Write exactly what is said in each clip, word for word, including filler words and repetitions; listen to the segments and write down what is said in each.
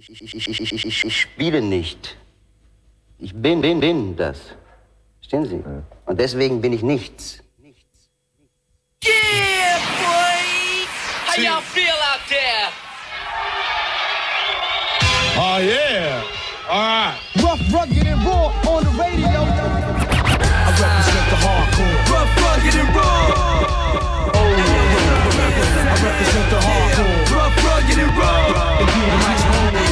Ich, ich, ich, ich, ich, ich spiele nicht. Ich bin, bin, bin das. Verstehen Sie? Ja. Und deswegen bin ich nichts. Yeah, boy! How y'all feel out there? Oh, yeah. All right. Rough, rugged, and raw on the radio. I represent the hardcore. Rough, rugged, and raw. Oh, I represent the hardcore. Rough, rugged, and raw. And do the nice home.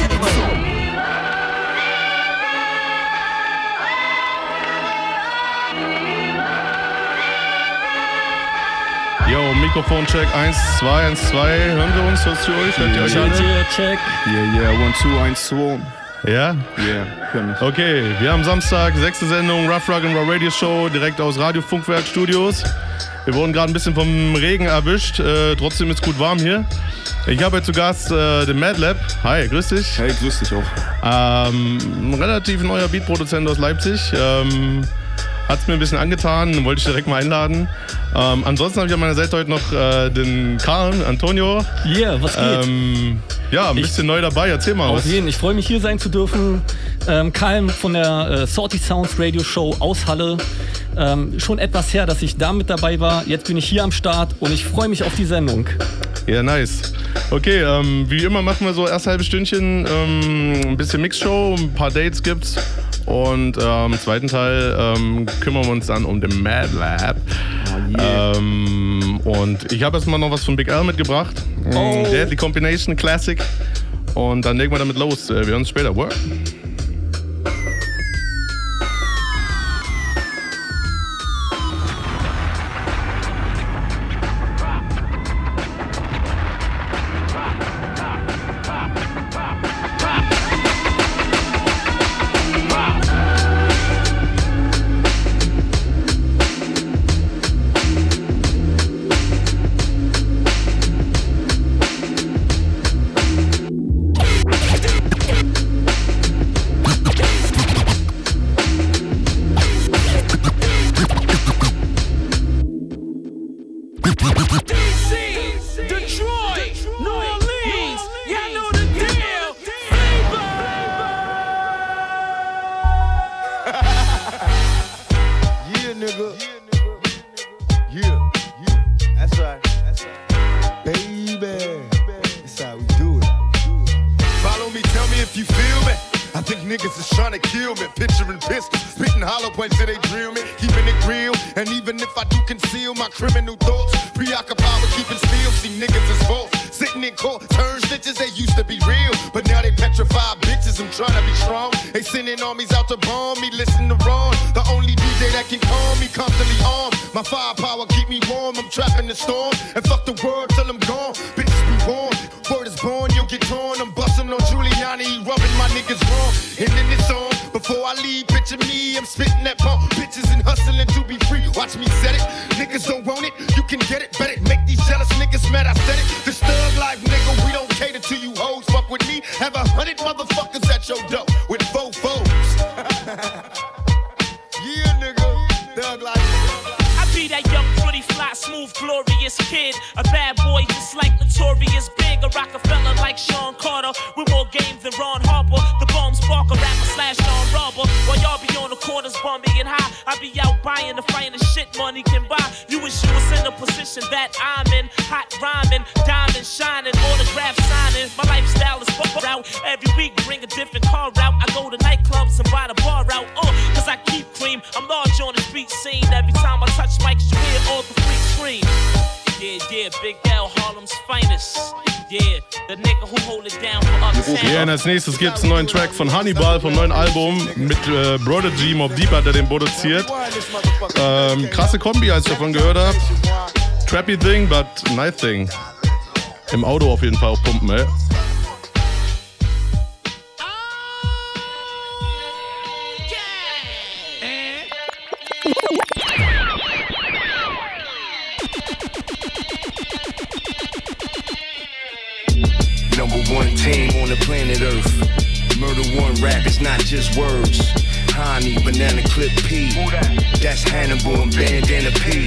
Yo, Mikrofoncheck eins, zwei, eins, zwei. Hören wir uns? Hörst du euch? Hört ihr euch alle? Yeah, check. Yeah, yeah, one, two, eins, zwei. Ja? Yeah, hör mich. Okay, wir haben Samstag, sechste Sendung, Rough Rock and Raw Radio Show, direkt aus Radio Funkwerk Studios. Wir wurden gerade ein bisschen vom Regen erwischt, äh, trotzdem ist gut warm hier. Ich habe heute zu Gast äh, den Madlab. Hi, grüß dich. Hey, grüß dich auch. Ähm, ein relativ neuer Beatproduzent aus Leipzig. Ähm, Hat es mir ein bisschen angetan, wollte ich direkt mal einladen. Ähm, ansonsten habe ich an meiner Seite heute noch äh, den Karl, Antonio. Yeah, was geht? Ähm, ja, ein Ich- bisschen neu dabei, erzähl mal Auf was. jeden, ich freue mich hier sein zu dürfen. Ähm, Karl von der äh, Salty Sounds Radio Show aus Halle. Ähm, schon etwas her, dass ich da mit dabei war. Jetzt bin ich hier am Start und ich freue mich auf die Sendung. Ja, nice. Okay, ähm, wie immer machen wir so erst halbe Stündchen ähm, ein bisschen Mixshow, ein paar Dates gibt's. Und ähm, im zweiten Teil ähm, kümmern wir uns dann um den Madlab. Oh, yeah. ähm, und ich habe erstmal noch was von Big L mitgebracht. Oh. Deadly Combination Classic. Und dann legen wir damit los. Äh, wir hören uns später. Word. Yeah, nigga. Yeah, yeah. That's right. That's right. Baby. That's how we do it. Follow me, tell me if you feel me. I think niggas is trying to kill me. Picturing pistols, spitting hollow points till they drill me. Keeping it real, and even if I do conceal my criminal thoughts, preoccupied with keeping still. See niggas is false. Sitting in court, turn snitches, they used to be real. But now they petrified bitches, I'm trying to be strong. They sending armies out to bomb me, listen to Ron. The only D J that can calm me, constantly armed. My firepower keep me warm, I'm trapping the storm. And fuck the world till I'm gone, bitches be warned. Word is born, you'll get torn. I'm busting on Giuliani, he rubbing my niggas wrong. And then it's on, before I leave, picture me, I'm spitting that pump. Bitches and hustling to be free, watch me set it. Niggas don't want it, you can get it, bet it. Make these jealous niggas mad, I said it. This thug life, nigga, we don't cater to you hoes. Fuck with me, have a hundred motherfuckers at your door with four foes. Yeah, nigga, thug life. I be that young, pretty, fly, smooth, glorious kid. A bad boy just like Notorious Big. A Rockefeller like Sean Carter. With more game than Ron Harper. The bomb spark, a rapper slash non-robber. While y'all be on the corners bumping and high, I be out buying the finest shit money can buy. You wish you was in the position that I'm in. Hot rhyming, diamond shining, autograph signing. My lifestyle is fuck out. Every week bring a different car out. I go to nightclubs and buy the bar out. Uh, cause I keep cream. I'm large on the street scene. Every time I touch mics, you hear all the freaks scream. Yeah, yeah, Big L, Harlem's finest. Yeah, the nigga who hold it down for uptown. Ja, und als nächstes gibt es einen neuen Track von Hannibal vom neuen Album mit äh, Prodigy, Mobb Deep hat er den produziert. Ähm, krasse Kombi, als ich davon gehört habe. Trappy Thing, but nice thing. Im Auto auf jeden Fall auch pumpen, ey. Number one team on the planet Earth. Murder One rap is not just words. Honey, Banana Clip P. That's Hannibal and Bandana P.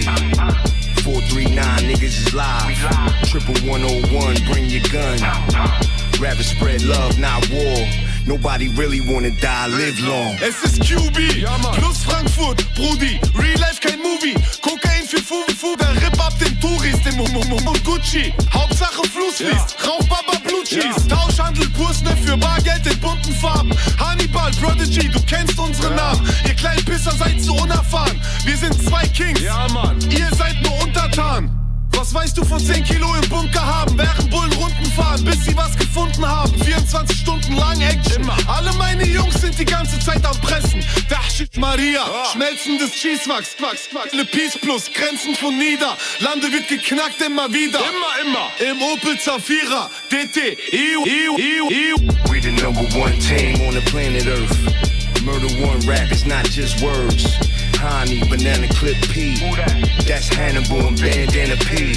four three nine niggas is live. Triple one oh one, bring your gun. Rather spread love, not war. Nobody really wanna die, live long. Es ist Q B, ja, plus Frankfurt, Brudi. Real Life, kein Movie. Kokain für Fufu, der Rip ab den Touris, den Mumum und Gucci. Hauptsache Fluss fließt, ja. Rauch Baba Blue Cheese. Ja. Tauschhandel, Pursne für Bargeld in bunten Farben. Hannibal, Prodigy, du kennst unsere ja. Namen. Ihr kleinen Pisser seid so unerfahren. Wir sind zwei Kings, ja, Mann. Ihr seid nur untertan. Was weißt du von zehn Kilo im Bunker haben? Während Bullen Runden fahren, bis sie was gefunden haben. vierundzwanzig Stunden lang Action. Immer. Alle meine Jungs sind die ganze Zeit am Pressen. Dachshit Maria, oh. Schmelzendes Cheesewachs. Le Peace Plus, Grenzen von nieder. Lande wird geknackt immer wieder. Immer, immer. Im Opel Zafira, D T, E U, E U, E U, E U. We the number one team on the planet Earth. Murder One rap is not just words. Honey, Banana Clip P. That's Hannibal and Bandana P.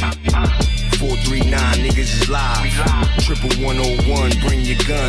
four three nine niggas is live. Triple one oh one, bring your gun.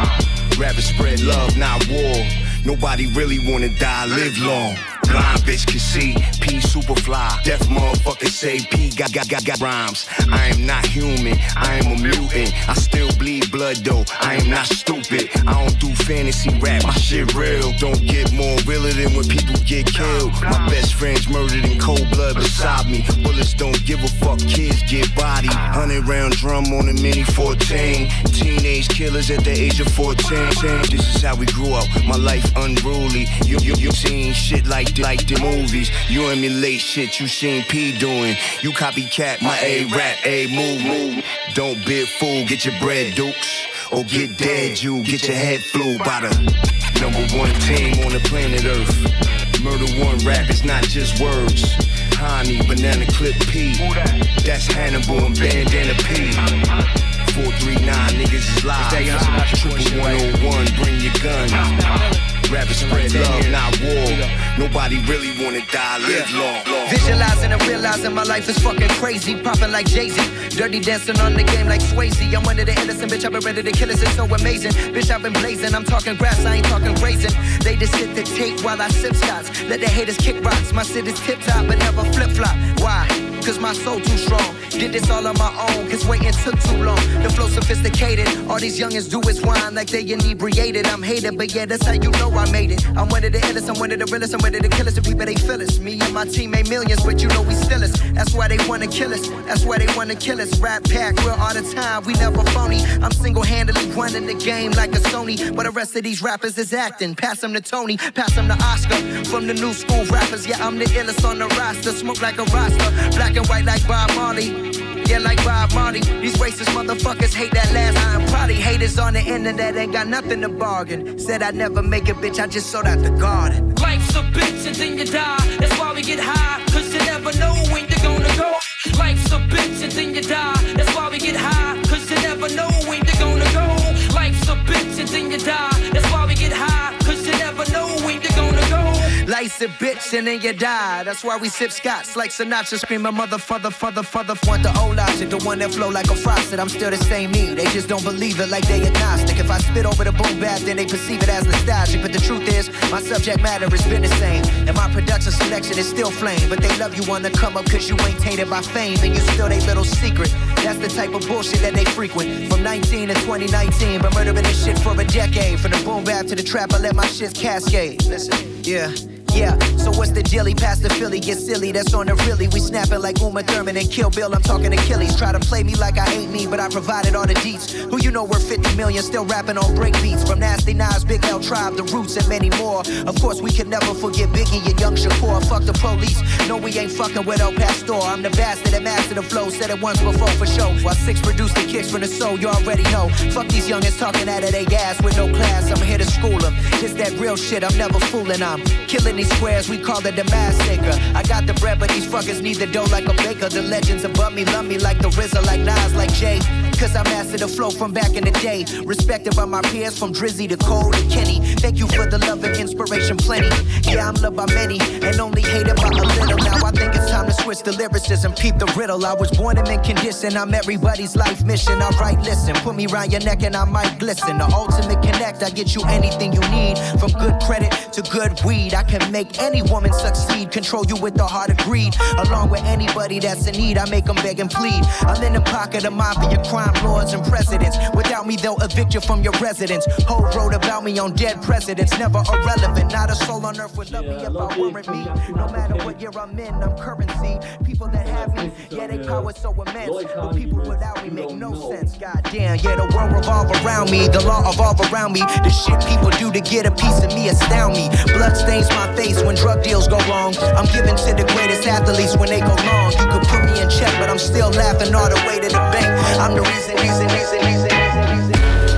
Rather spread love, not war. Nobody really wanna die, live long. Blind bitch can see, P super fly. Deaf motherfucker say P got got got got rhymes. I am not human, I am a mutant. I still bleed blood though, I am not stupid. I don't do fantasy rap, my shit real. Don't get more realer than when people get killed. My best friend's murdered in cold blood beside me. Bullets don't give a fuck, kids get bodied. Hundred round drum on a mini fourteen. Teenage killers at the age of fourteen. This is how we grew up, my life unruly. You you you seen shit like like the movies. You emulate shit you seen P doing. You copycat my A rap, A move, move. Don't be a fool, get your bread, dukes. Or get dead, you get your head flew by the number one team on the planet Earth. Murder One rap is not just words. Honey, Banana Clip P. That's Hannibal and Bandana P. four three nine niggas is live. Triple one oh one, bring your gun. Rather spread love, not war. Nobody really wanna die, live long. Visualizing and realizing my life is fucking crazy. Popping like Jay-Z. Dirty dancing on the game like Swayze. I'm one of the innocent, bitch, I've been ready to kill us, it's so amazing. Bitch, I've been blazing, I'm talking grass, I ain't talking grazing. They just hit the tape while I sip shots. Let the haters kick rocks. My shit is tip-top but never flip-flop. Why? Cause my soul too strong. Did this all on my own, cause waiting took too long. The flow sophisticated, all these youngins do is whine like they inebriated. I'm hated, but yeah, that's how you know I made it. I'm one of the illest, I'm one of the realest, I'm one of the killers. The people, they feel us. Me and my team made millions, but you know we still us. That's why they wanna kill us, that's why they wanna kill us. Rap pack, we're all the time, we never phony. I'm single-handedly running the game like a Sony. But the rest of these rappers is acting. Pass them to Tony, pass them to Oscar. From the new school rappers, yeah, I'm the illest on the roster. Smoke like a roster, black and white like Bob Marley. Yeah, like Bob Marley. These racist motherfuckers hate that last line. Probably haters on the internet ain't got nothing to bargain. Said I'd never make it, bitch, I just sold out the garden. Life's a bitch and then you die. That's why we get high, cause you never know when you're gonna go. Life's a bitch and then you die. That's why we get high, cause you never know when you're gonna go. Life's a bitch and then you die. That's why we get high, cause you never know when you're gonna go. Life's a bitch and then you die. That's why we sip Scots like Sinatra screaming mother, father, father, father. Want the old logic, the one that flow like a frosted. I'm still the same me. They just don't believe it like they agnostic. If I spit over the boom bap, then they perceive it as nostalgic. But the truth is, my subject matter has been the same. And my production selection is still flame. But they love you on the come up cause you ain't tainted by fame. And you still they little secret. That's the type of bullshit that they frequent. From nineteen to twenty nineteen, been murdering this shit for a decade. From the boom bap to the trap, I let my shit cascade. Listen, yeah. Yeah, so what's the dealie? Past the Philly, get silly, that's on the really. We snapping like Uma Thurman and Kill Bill, I'm talking Achilles. Try to play me like I hate me, but I provided all the deets. Who you know we're fifty million, still rapping on break beats. From Nasty Nas, Big L Tribe, The Roots, and many more. Of course, we can never forget Biggie and Young Shakur. Fuck the police, no we ain't fucking with El Pastor. I'm the bastard that mastered the flow, said it once before for show. While six produced the kicks from the soul, you already know. Fuck these youngins talking out of their ass with no class, I'm here to school them. It's that real shit, I'm never fooling, I'm killing these squares, we call it the massacre. I got the bread, but these fuckers need the dough like a baker. The legends above me love me like the R Z A, like Nas, like Jay. Cause I mastered the flow from back in the day. Respected by my peers from Drizzy to Cole to Kenny. Thank you for the love and inspiration plenty. Yeah, I'm loved by many and only hated by a little. Now I think it's time to switch the lyricism, peep the riddle. I was born in mint condition, I'm everybody's life mission. Alright, listen, put me round your neck and I might glisten. The ultimate connect, I get you anything you need. From good credit to good weed, I can make any woman succeed. Control you with the heart of greed. Along with anybody that's in need, I make them beg and plead. I'm in the pocket of mafia crime. crime lords and presidents. Without me, they'll evict you from your residence. Hov wrote about me on dead presidents, never irrelevant. Not a soul on earth would love me if I weren't me. No matter what year I'm in, I'm currency. People that have me, yeah, they power so immense. But people without me make no sense. Goddamn, yeah, the world revolve around me, the law evolve around me. The shit people do to get a piece of me astound me. Blood stains my face when drug deals go wrong. I'm given to the greatest athletes when they go long. You could put me in check, but I'm still laughing all the way to the bank. I'm the reason, reason, reason, reason, reason, reason.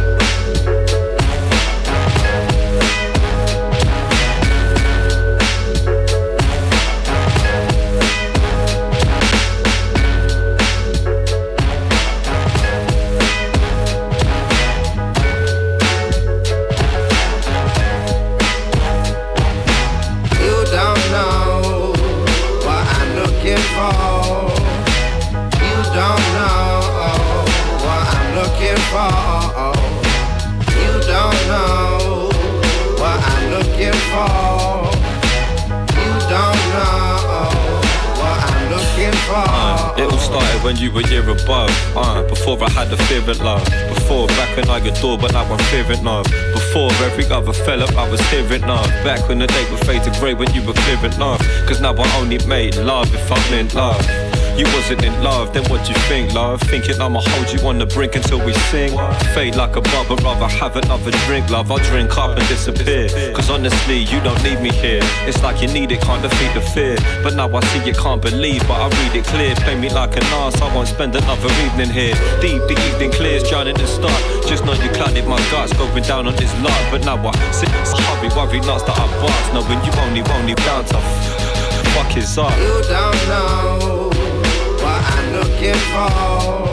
Uh, it all started when you were year above. Uh, before I had the fear of love. Before, back when I adored, but now I'm fearing love. Before every other fell up, I was hearing love. Back when the day would fade to grey when you were clearing love. Cause now I only made love if I'm in love. You wasn't in love, then what you think, love? Thinking I'ma hold you on the brink until we sing. Fade like a bubble, rather have another drink, love. I'll drink up and disappear. Cause honestly, you don't need me here. It's like you need it, can't defeat the fear. But now I see you can't believe, but I read it clear. Play me like an ass, I won't spend another evening here. Deep, the evening clears, drowning the start. Just know you clouded my guts, going down on this lot. But now I sit, hurry, worry, nuts that I bust. Knowing you only, only bound to fuck his up. You don't know what I'm looking for.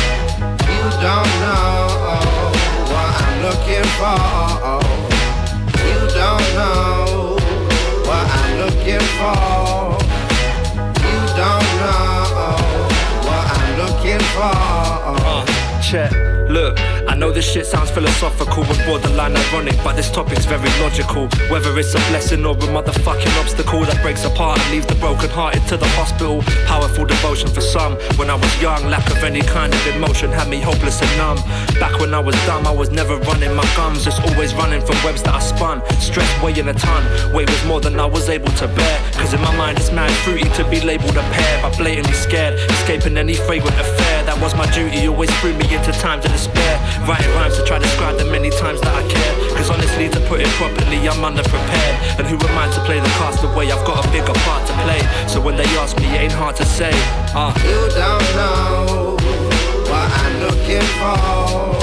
You don't know what I'm looking for. You don't know what I'm looking for. You don't know what I'm looking for. Uh, check. Look, I know this shit sounds philosophical and borderline ironic, but this topic's very logical. Whether it's a blessing or a motherfucking obstacle that breaks apart and leaves the broken-hearted to the hospital. Powerful devotion for some. When I was young, lack of any kind of emotion had me hopeless and numb. Back when I was dumb, I was never running my gums, just always running from webs that I spun. Stress weighing a ton, weight was more than I was able to bear. Cause in my mind it's mad fruity to be labelled a pair, but blatantly scared, escaping any fragrant affair. That was my duty, always threw me into times of despair. Writing rhymes to try to describe the many times that I care. Cause honestly, to put it properly, I'm underprepared. And who am I to play the cast away? I've got a bigger part to play. So when they ask me, it ain't hard to say. uh. You don't know what I'm looking for.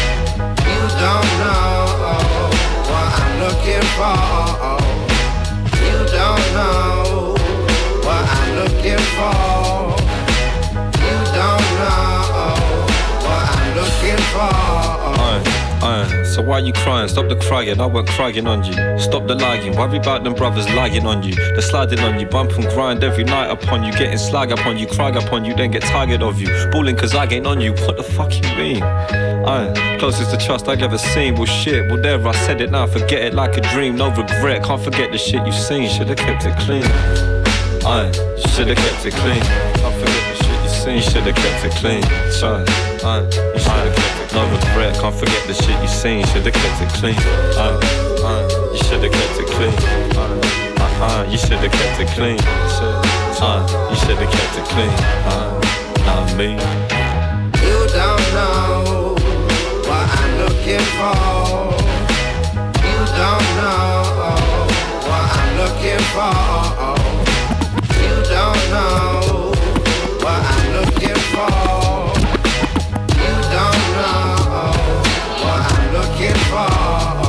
You don't know what I'm looking for. You don't know what I'm looking for. You don't know what I'm looking for. Uh, uh, so why you crying? Stop the crying, I weren't crying on you. Stop the lying, worry about them brothers lying on you. They're sliding on you, bump and grind every night upon you. Getting slag upon you, cry upon you, then get tired of you. Balling cause I ain't on you, what the fuck you mean? Uh, closest to trust I've ever seen. Well shit, well there I said it now, forget it like a dream. No regret, can't forget the shit you seen. Should've kept it clean. Uh, you should've kept it clean. Can't forget the shit you seen. You should've kept it clean. Uh, uh, you should've kept it. No regret, can't forget the shit you seen. Should've kept it clean. Uh, uh, you should've kept it clean. Uh, uh, uh, you should've kept it clean. Uh, you should've kept it clean. Uh, not me. You don't know what I'm looking for. You don't know what I'm looking for. You don't know what I'm looking for. You don't know what I'm looking for.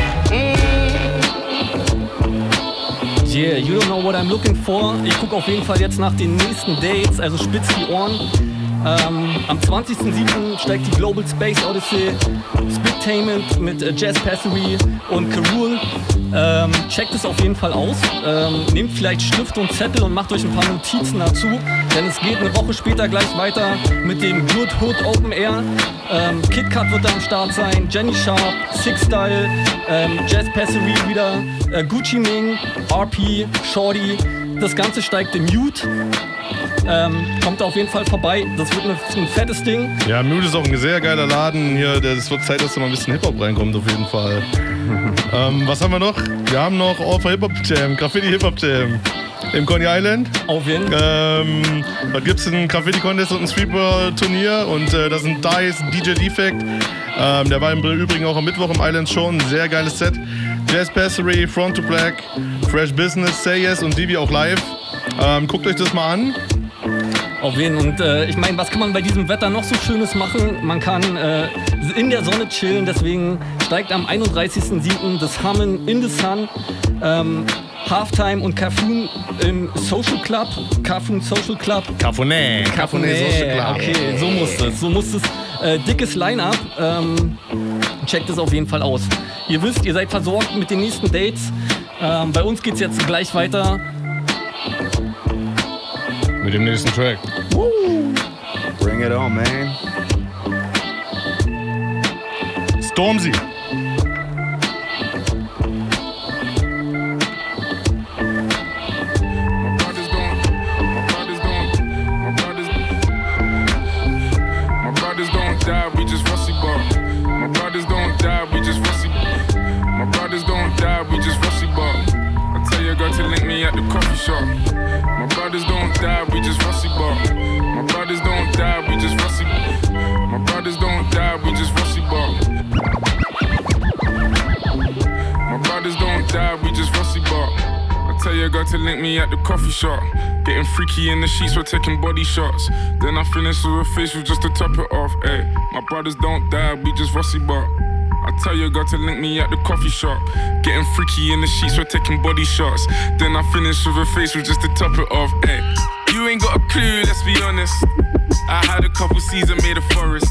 Yeah, you don't know what I'm looking for. Ich gucke auf jeden Fall jetzt nach den nächsten Dates, also spitz die Ohren. Ähm, am zwanzigsten siebten steigt die Global Space Odyssey, Splitainment mit äh, Jazz Passery und Karul. Ähm, checkt es auf jeden Fall aus. Ähm, nehmt vielleicht Stift und Zettel und macht euch ein paar Notizen dazu, denn es geht eine Woche später gleich weiter mit dem Good Hood Open Air. Ähm, Kid Cut wird da am Start sein, Jenny Sharp, Six Style, ähm, Jazz Passery wieder, äh, Gucci Mane, R P, Shorty. Das Ganze steigt im Mute. Ähm, kommt da auf jeden Fall vorbei. Das wird ein fettes Ding. Ja, Müde ist auch ein sehr geiler Laden hier. Es wird Zeit, dass da mal ein bisschen Hip-Hop reinkommt, auf jeden Fall. ähm, was haben wir noch? Wir haben noch All for Hip-Hop Jam, Graffiti Hip-Hop Jam. Im Coney Island. Auf jeden Fall. Ähm, da gibt es einen Graffiti-Contest und ein Streetball-Turnier. Und äh, das sind Dice, D J Defect. Ähm, der war im Übrigen auch am Mittwoch im Island schon. Ein sehr geiles Set. Jazz Passery, Front to Black, Fresh Business, Say Yes und Divi auch live. Ähm, guckt euch das mal an. Auf jeden Fall. Und äh, ich meine, was kann man bei diesem Wetter noch so Schönes machen? Man kann äh, in der Sonne chillen. Deswegen steigt am einunddreißigsten siebten das Hummin in the Sun. Ähm, Halftime und Cafoon im Social Club. Cafoon Social Club. Cafoné. Cafoné Social Club. Okay, so muss es. So muss es. Äh, dickes Line-Up. Ähm, checkt es auf jeden Fall aus. Ihr wisst, ihr seid versorgt mit den nächsten Dates. Ähm, bei uns geht's jetzt gleich weiter. Mit dem nächsten Track. Woo. Bring it on, man. Stormzy. To link me at the coffee shop. My brothers don't die, we just rusty bar. My brothers don't die, we just rusty. My brothers don't die, we just rusty bar. My brothers don't die, we just rusty bar. I tell your girl to link me at the coffee shop. Getting freaky in the sheets, we're taking body shots. Then I finish with a facial just to top it off. Ay, my brothers don't die, we just rusty bar. I tell your girl to link me at the coffee shop. Getting freaky in the sheets, we're taking body shots. Then I finish with a facial just to top it off. Ay, you ain't got a clue, let's be honest. I had a couple seasons made a forest.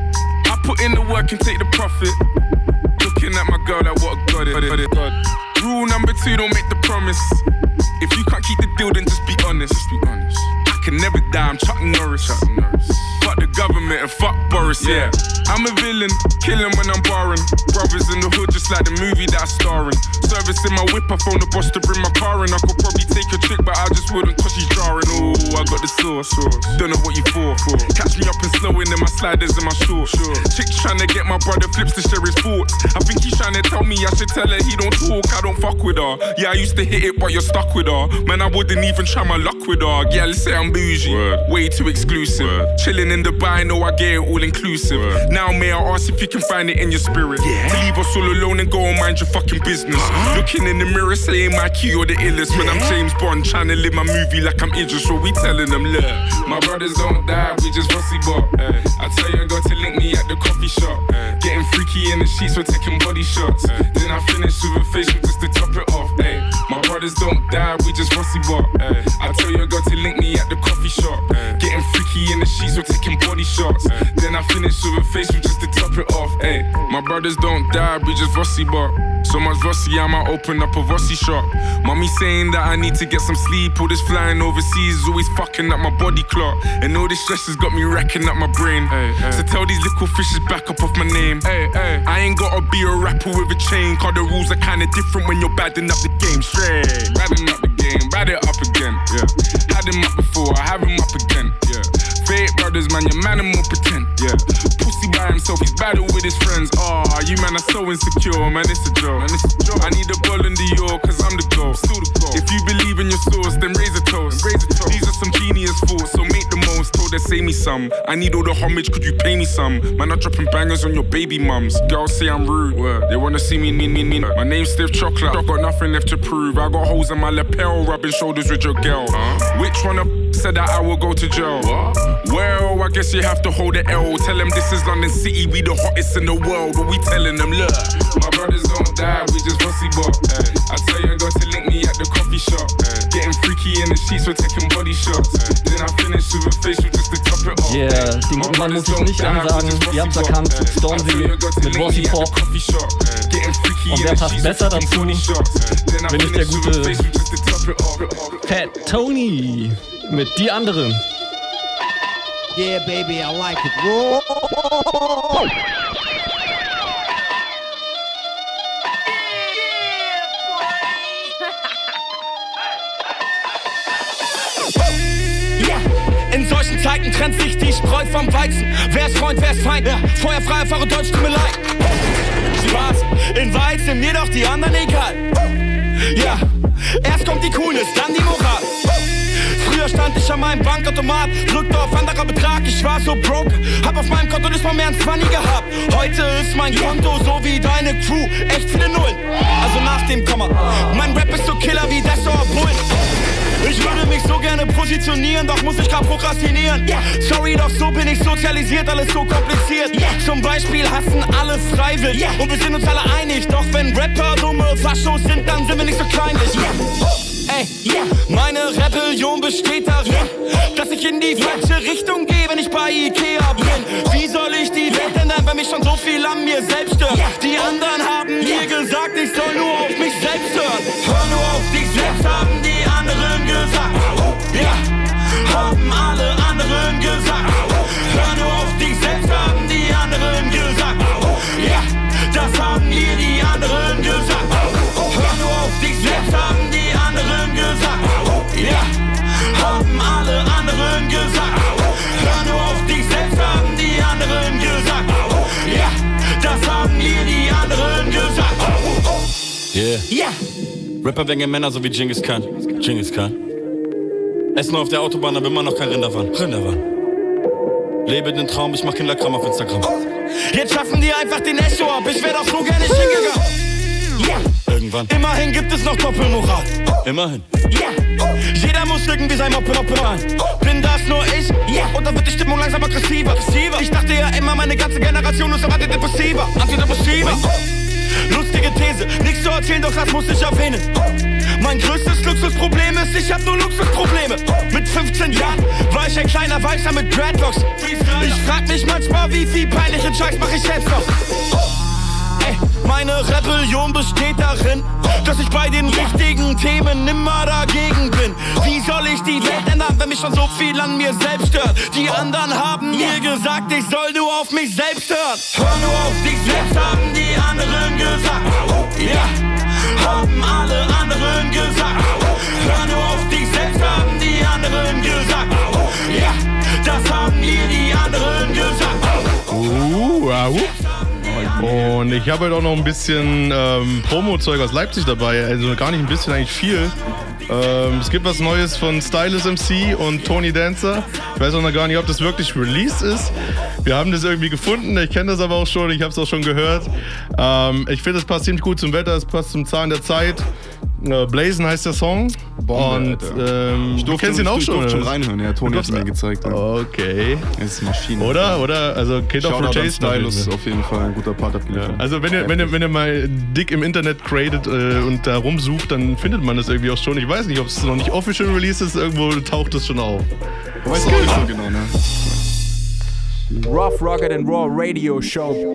I put in the work and take the profit. Looking at my girl like what a god it. God. Rule number two, don't make the promise. If you can't keep the deal, then just be honest. Just be honest. I can never die, I'm Chuck Norris. Chuck Norris. Fuck the government and fuck Boris, yeah. I'm a villain, killing when I'm barring. Brothers in the hood, just like the movie that I star in. Service in my whip, I phone the boss to bring my car in. I could probably take a trick, but I just wouldn't cause she's jarring. Oh, I got the sauce, don't know what you for. Catch me up and slowing in my sliders and my shorts. Chick's trying to get my brother Flips to share his thoughts. I think he's trying to tell me I should tell her he don't talk, I don't fuck with her. Yeah, I used to hit it, but you're stuck with her. Man, I wouldn't even try my luck with her. Yeah, let's say I'm bougie, Word. Way too exclusive. Word. Chilling in Dubai, know I get it all inclusive. Word. Now may I ask if you can find it in your spirit, yeah. To leave us all alone and go and mind your fucking business. Uh-huh. Looking in the mirror saying my key or the illest, yeah. When I'm James Bond trying to live my movie like I'm Idris. So we telling them, look, my brothers don't die, we just rusty bop. uh. I tell you I got to link me at the coffee shop. uh. Getting freaky in the sheets, we're taking body shots. uh. Then I finish with a facial just to top it off. Ay. My brothers don't die, we just rusty bop. uh. I tell you I got to link me at the coffee shop. uh. Getting freaky in the sheets, we're taking body shots. uh. Then I finish with a facial just to top it off. Ay. My brothers don't die, we just rusty bop. So much rusty, I might open up a rusty shop. Mommy saying that I need to get some sleep. All this flying overseas is always fucking up my body clock. And all this stress has got me racking up my brain. Ay, ay. So tell these little fishes back up off my name. Ay, ay. I ain't gotta be a rapper with a chain, cause the rules are kinda different when you're badding up the game. Straight, badding up the game, bad it up again. Yeah. Had him up before, I have him up again. Yeah. Fake brothers, man, your man and more pretend. Yeah. Pussy by himself, he's battle with his friends. Aw, oh, you man are so insecure, man, it's a joke. Man, it's a joke. I need a ball in the York, cause I'm the goal. Still the goal. If you believe in your source, then raise a toast. Raise a toast. These are some genius thoughts, so make the most. Told her, say me some. I need all the homage, could you pay me some? Man, I'm dropping bangers on your baby mums. Girls say I'm rude. Word. They wanna see me, me, me, me. My name's Stiff Chocolate, I got nothing left to prove. I got holes in my lapel, rubbing shoulders with your girl. Huh? Which one of said that I will go to jail? What? Well, I guess you have to hold the L. Tell them this is London City, we the hottest in the world. But we telling them, look, my brothers don't die, we just rusty bop. Ay. I tell you I got to link me at the coffee shop. Ay. Getting freaky in the sheets, we're taking body shots. Ay. Then I finish with a facial just to top it off. Yeah, den guten Mann muss ich nicht ansagen. Ihr habt's erkannt, Stormzy mit Bossy Pop. Und wer passt besser dazu, wenn nicht der gute Fat Tony mit Die Anderen. Yeah, baby, I like it. Roll. Yeah. Zeiten trennt sich die Spreu vom Weizen. Wer ist Freund, wer ist Feind? Ja. Feuerfrei, Fahre Deutsch, tut mir leid. Spaß, in Weiz sind mir doch die anderen egal. Ja, erst kommt die Coolness, dann die Moral. Früher stand ich an meinem Bankautomat, drückte auf anderer Betrag, ich war so broke. Hab auf meinem Konto nicht mal mehr ein Zwanni gehabt. Heute ist mein Konto so wie deine Crew, echt viele Nullen, also nach dem Komma. Mein Rap ist so killer wie Desso Bullen. Ich würde mich so gerne positionieren, doch muss ich grad prokrastinieren. Sorry, doch so bin ich sozialisiert, alles so kompliziert. Zum Beispiel hassen alle freiwillig und wir sind uns alle einig. Doch wenn Rapper dumme Faschos sind, dann sind wir nicht so kleinlich. Ey, yeah. Meine Rebellion besteht darin, dass ich in die falsche Richtung gehe, wenn ich bei Ikea bin. Wie soll ich die Welt ändern, wenn mich schon so viel an mir selbst stört? Die anderen haben mir gesagt, ich soll nur auf mich selbst hören. Hör nur auf dich selbst, haben die anderen gesagt. Ja, haben alle anderen gesagt. Hör nur auf dich selbst, haben die anderen gesagt. Ja, das haben mir die anderen gesagt. Hör nur auf dich selbst, haben die anderen gesagt. Ja, haben alle anderen gesagt. Hör nur auf dich selbst, haben die anderen gesagt. Ja, das haben mir die anderen gesagt. Yeah. Yeah. Rapper wegen Männer so wie Genghis Khan. Genghis Khan. Essen auf der Autobahn, aber immer noch kein Rinderwahn. Rinderwahn. Lebe den Traum, ich mach Kinderkram auf Instagram. Jetzt schaffen die einfach den Echo ab, ich wär doch so gerne hingegangen. Yeah. Irgendwann. Immerhin gibt es noch Doppelmoral. Immerhin. Yeah. Jeder muss irgendwie sein Moppe Moppe sein. Bin das nur ich? Yeah. Und dann wird die Stimmung langsam aggressiver. Ich dachte ja immer, meine ganze Generation ist aber antidepressiver. Antidepressiva. Lustige These, nichts zu erzählen, doch das muss ich erwähnen. Mein größtes Luxusproblem ist, ich hab nur Luxusprobleme. Mit fünfzehn Jahren war ich ein kleiner Weißer mit Dreadlocks. Ich frag mich manchmal, wie viel peinlichen Scheiß mach ich jetzt noch. Ey, meine Rebellion besteht darin, dass ich bei den wichtigen Themen immer dagegen bin. Wie soll ich die Welt ändern, wenn mich schon so viel an mir selbst stört? Die anderen haben mir gesagt, ich soll nur auf mich selbst hören. Hör nur auf dich selbst, haben die anderen gesagt. Ja, haben alle anderen gesagt. Hör nur auf dich selbst, haben die anderen gesagt. Ja, das haben mir die anderen gesagt. Uh, wow. Und ich habe halt auch noch ein bisschen ähm, Promo-Zeug aus Leipzig dabei. Also gar nicht ein bisschen, eigentlich viel. Ähm, es gibt was Neues von Stylus M C und Tony Dancer. Ich weiß auch noch gar nicht, ob das wirklich released ist. Wir haben das irgendwie gefunden. Ich kenne das aber auch schon. Ich habe es auch schon gehört. Ähm, ich finde, es passt ziemlich gut zum Wetter. Es passt zum Zahn der Zeit. Äh, Blazen heißt der Song. Bombe, und ähm, ich durfte, du kennst ihn auch ich schon. Ich durfte schon reinhören. Ja, Tony hat es mir gezeigt. Ja. Okay. Das ist Maschine. Oder? Oder? Also Kid of Rotation. Stylus auf jeden Fall ein guter Part abgeliefert. Ja. Also wenn ihr, wenn, ihr, wenn ihr mal dick im Internet created äh, und da rumsucht, dann findet man das irgendwie auch schon. Ich weiß nicht, ob es noch nicht official released ist. Irgendwo taucht es schon auf. Ich weiß auch nicht so genau, ne? Rough, Rugged and Raw Radio Show.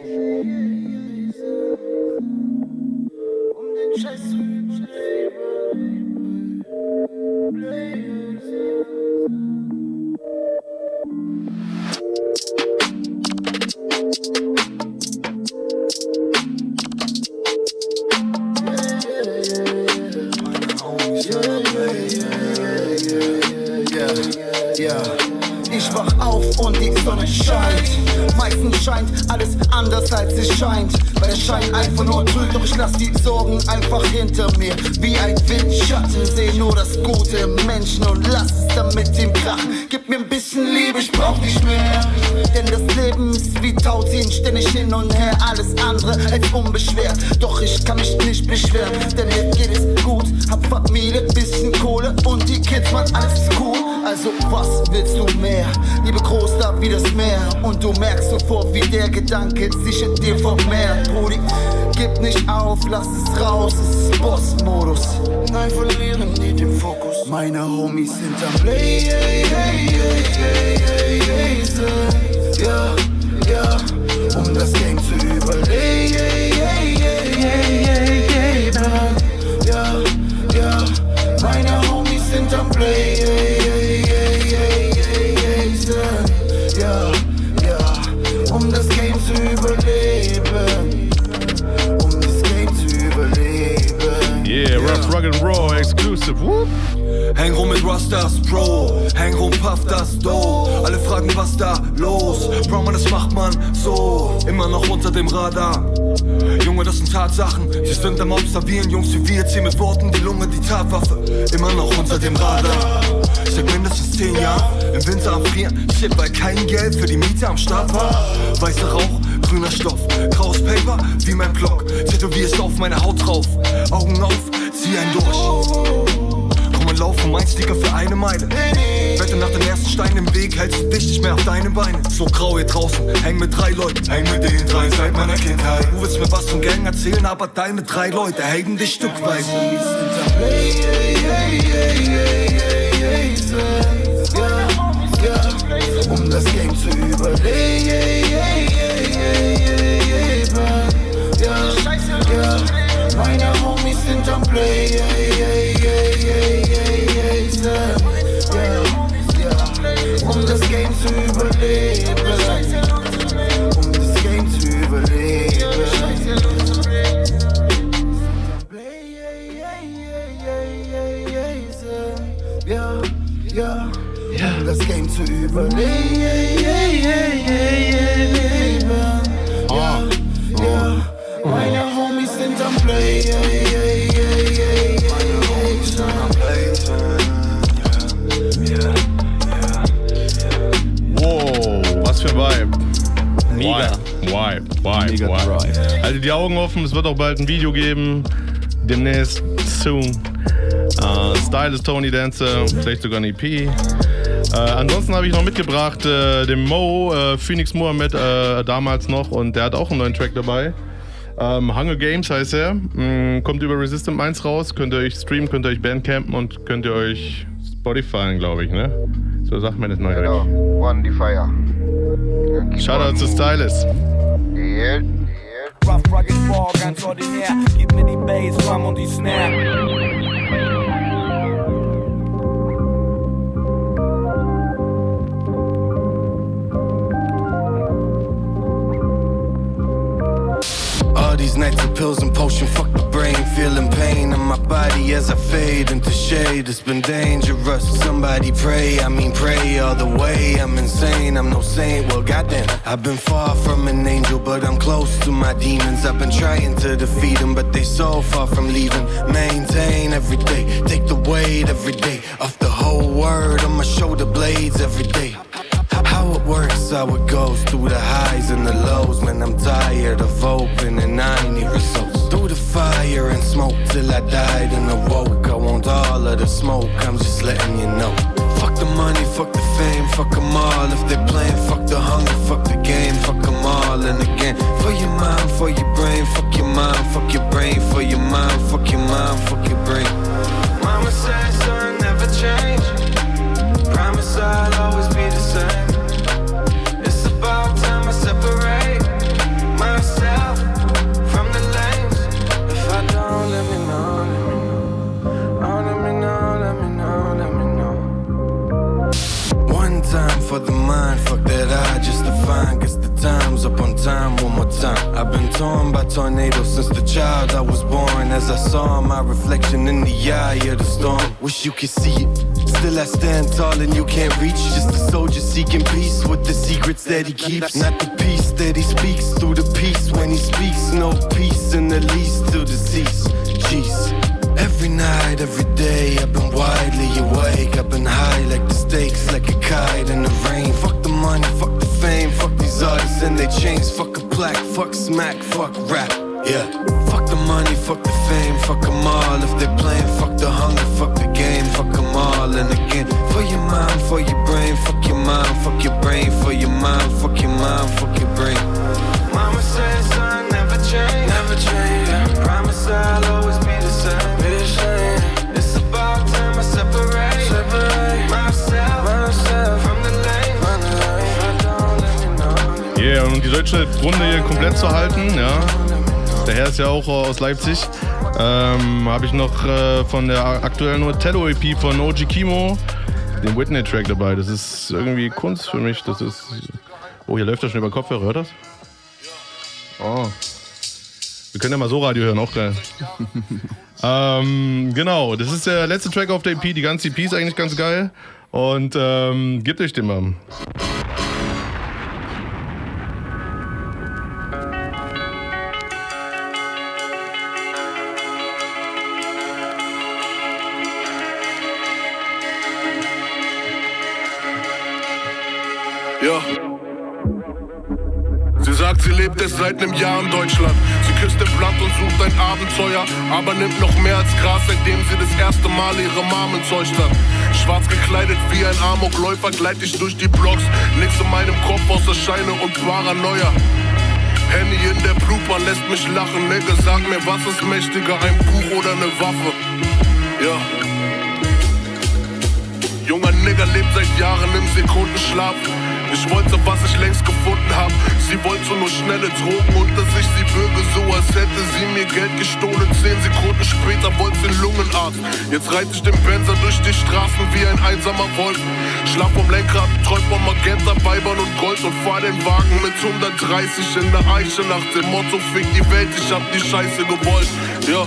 Ich wach auf und die Sonne scheint. Meistens scheint alles anders als es scheint. Weil der Schein einfach nur trügt, doch ich lass die Sorgen einfach hinter mir. Wie ein Windschatten, seh nur das Gute im Menschen und lass es dann mit ihm krachen. Gib mir ein bisschen Liebe, ich brauch nicht mehr. Denn das Leben ist wie Tauziehen, ständig hin und her, alles andere als unbeschwert. Doch ich kann mich nicht beschweren, denn mir geht es gut. Hab Familie, bisschen Kohle und die Kids, man, alles ist cool. Also was willst du mehr? Liebe groß da wie das Meer. Und du merkst sofort, wie der Gedanke sich in dir vermehrt. Brudi, gib nicht auf, lass es raus, es ist Boss-Modus. Nein, verlieren nie den Fokus. Meine Homies sind am Play, hey, hey, hey, hey, hey, hey, ja, ja, um das Game zu überleben. Hey, hey, hey, hey, hey, hey, hey, ja, ja, meine Homies sind am Play, hey, hey, hey, hey, hey, hey, ja, ja, um das Game zu überleben, um das Game zu überleben. Yeah, Rough, Rugged and Raw, exclusive. Whoop. Häng rum mit Rastas, Bro. Häng rum, puff das Dough. Alle fragen, was da los? Bro, man, das macht man so. Immer noch unter dem Radar. Junge, das sind Tatsachen. Sie sind am Observieren, Jungs wie wir ziehen mit Worten die Lunge, die Tatwaffe. Immer noch unter dem Radar. Seit mindestens zehn Jahren im Winter am Frieren. Shit, weil kein Geld für die Miete am Start war. Weißer Rauch, grüner Stoff, graues Paper wie mein Block. Tätowierst auf meine Haut drauf. Augen auf, zieh einen durch. Komm und lauf um ein Sticker für eine Meile. Wette nach dem ersten Stein im Weg hältst du dich nicht mehr auf deine Beine. So grau hier draußen, häng mit drei Leuten. Häng mit den drei seit meiner Kindheit. Du willst mir was von Gang erzählen, aber deine drei Leute haten dich stückweise. Um das Game zu überleben. Meine Homies sind am Play. Um das Game zu überleben. Um das Game zu überleben. Ja, ja, um das Game zu überleben. Ja, ja, meine Homies sind am Play. Meine Homies sind am Play. Wow, was für ein Vibe. Mega. Vibe, Vibe, Vibe, Vibe. Haltet die Augen offen, es wird auch bald ein Video geben. Demnächst, soon. Uh, Style ist Tony Dancer, vielleicht sogar ein E P. Uh, ansonsten habe ich noch mitgebracht uh, den Mo, uh, Phoenix Mohammed, uh, damals noch, und der hat auch einen neuen Track dabei. Um, Hunger Games heißt er. Mm, kommt über Resistant eins raus, könnt ihr euch streamen, könnt ihr euch Bandcampen und könnt ihr euch Spotify, glaube ich, ne? So sagt man das neu. Genau, One Fire. Shoutout zu Stylist. Yeah. Rough, rugged, raw, ganz ordinär. Gib mir die Bass, Drum und die Snare. All these nights of pills and potion, fuck the brain. Feeling pain in my body as I fade into shade. It's been dangerous. Somebody pray, I mean pray all the way. I'm insane, I'm no saint. Well, goddamn, I've been far from an angel, but I'm close to my demons. I've been trying to defeat them, but they so far from leaving. Maintain every day, take the weight every day off the whole word on my shoulder blades every day. How it works, how it goes, through the highs and the lows. Man, I'm tired of hoping and I need results. Through the fire and smoke till I died and awoke. I want all of the smoke, I'm just letting you know. Fuck the money, fuck the fame, fuck them all. If they're playing, fuck the hunger, fuck the game, fuck them all. And again, for your mind, for your brain, fuck your mind, fuck your brain, for your mind, fuck your mind, fuck your brain. Mama said, son, never change. Promise I'll always be the same. About time I separate myself from the lanes. If I don't, let me know, let me know. Oh, let me know, let me know, let me know. One time for the mind, fuck that I just define. Guess the time's up on time, one more time. I've been torn by tornadoes since the child I was born. As I saw my reflection in the eye of the storm. Wish you could see it. Still I stand tall and you can't reach. Just a soldier seeking peace with the secrets that he keeps. Not the peace that he speaks through the peace. When he speaks, no peace in the least till deceased. Jeez. Every night, every day, I've been widely awake. I've been high like the stakes, like a kite in the rain. Fuck the money, fuck the fame, fuck these artists and their chains. Fuck a plaque, fuck smack, fuck rap. Yeah. Fuck the money, fuck the fame, fuck them all. If they're playing, fuck the hunger, fuck the game, fuck them all. And again, for your mind, for your brain, fuck your mind, fuck your brain, for your mind, fuck your mind, fuck your brain. Mama said, son, never change, never change. Yeah. Promise I'll always be the same, be the same. It's about time I separate, separate myself, myself from the lane, from the lane. If I don't, let me know. Yeah, um die deutsche Runde hier komplett zu halten, ja. Der Herr ist ja auch aus Leipzig. Ähm, habe ich noch äh, von der aktuellen Otello-E P von O G Kimo den Whitney-Track dabei. Das ist irgendwie Kunst für mich. Das ist. Oh, hier läuft das schon über Kopfhörer, hört das? Oh. Wir können ja mal so Radio hören, auch geil. ähm, genau, das ist der letzte Track auf der E P. Die ganze E P ist eigentlich ganz geil. Und ähm, gebt euch den mal. Ja. Sie sagt, sie lebt erst seit einem Jahr in Deutschland. Sie küsst den Blatt und sucht ein Abenteuer, aber nimmt noch mehr als Gras, seitdem sie das erste Mal ihre Mom entzeugt hat. Schwarz gekleidet wie ein Amokläufer gleit ich durch die Blocks. Nichts in meinem Kopf außer Scheine und Paranoia. Henny in der Blutbahn lässt mich lachen. Nigga, sag mir, was ist mächtiger, ein Buch oder eine Waffe? Ja. Junger Nigger lebt seit Jahren im Sekundenschlaf. Ich wollte, was ich längst gefunden hab. Sie wollte nur schnelle Drogen und dass ich sie würge, so als hätte sie mir Geld gestohlen. Zehn Sekunden später wollte sie Lungenarzt. Jetzt reite ich den Benzer durch die Straßen wie ein einsamer Wolf. Schlaf vom Lenkrad, träum von Magenta, Weibern und Gold und fahr den Wagen mit hundertdreißig in der Eiche nach dem Motto, fick die Welt, ich hab die Scheiße gewollt. Ja.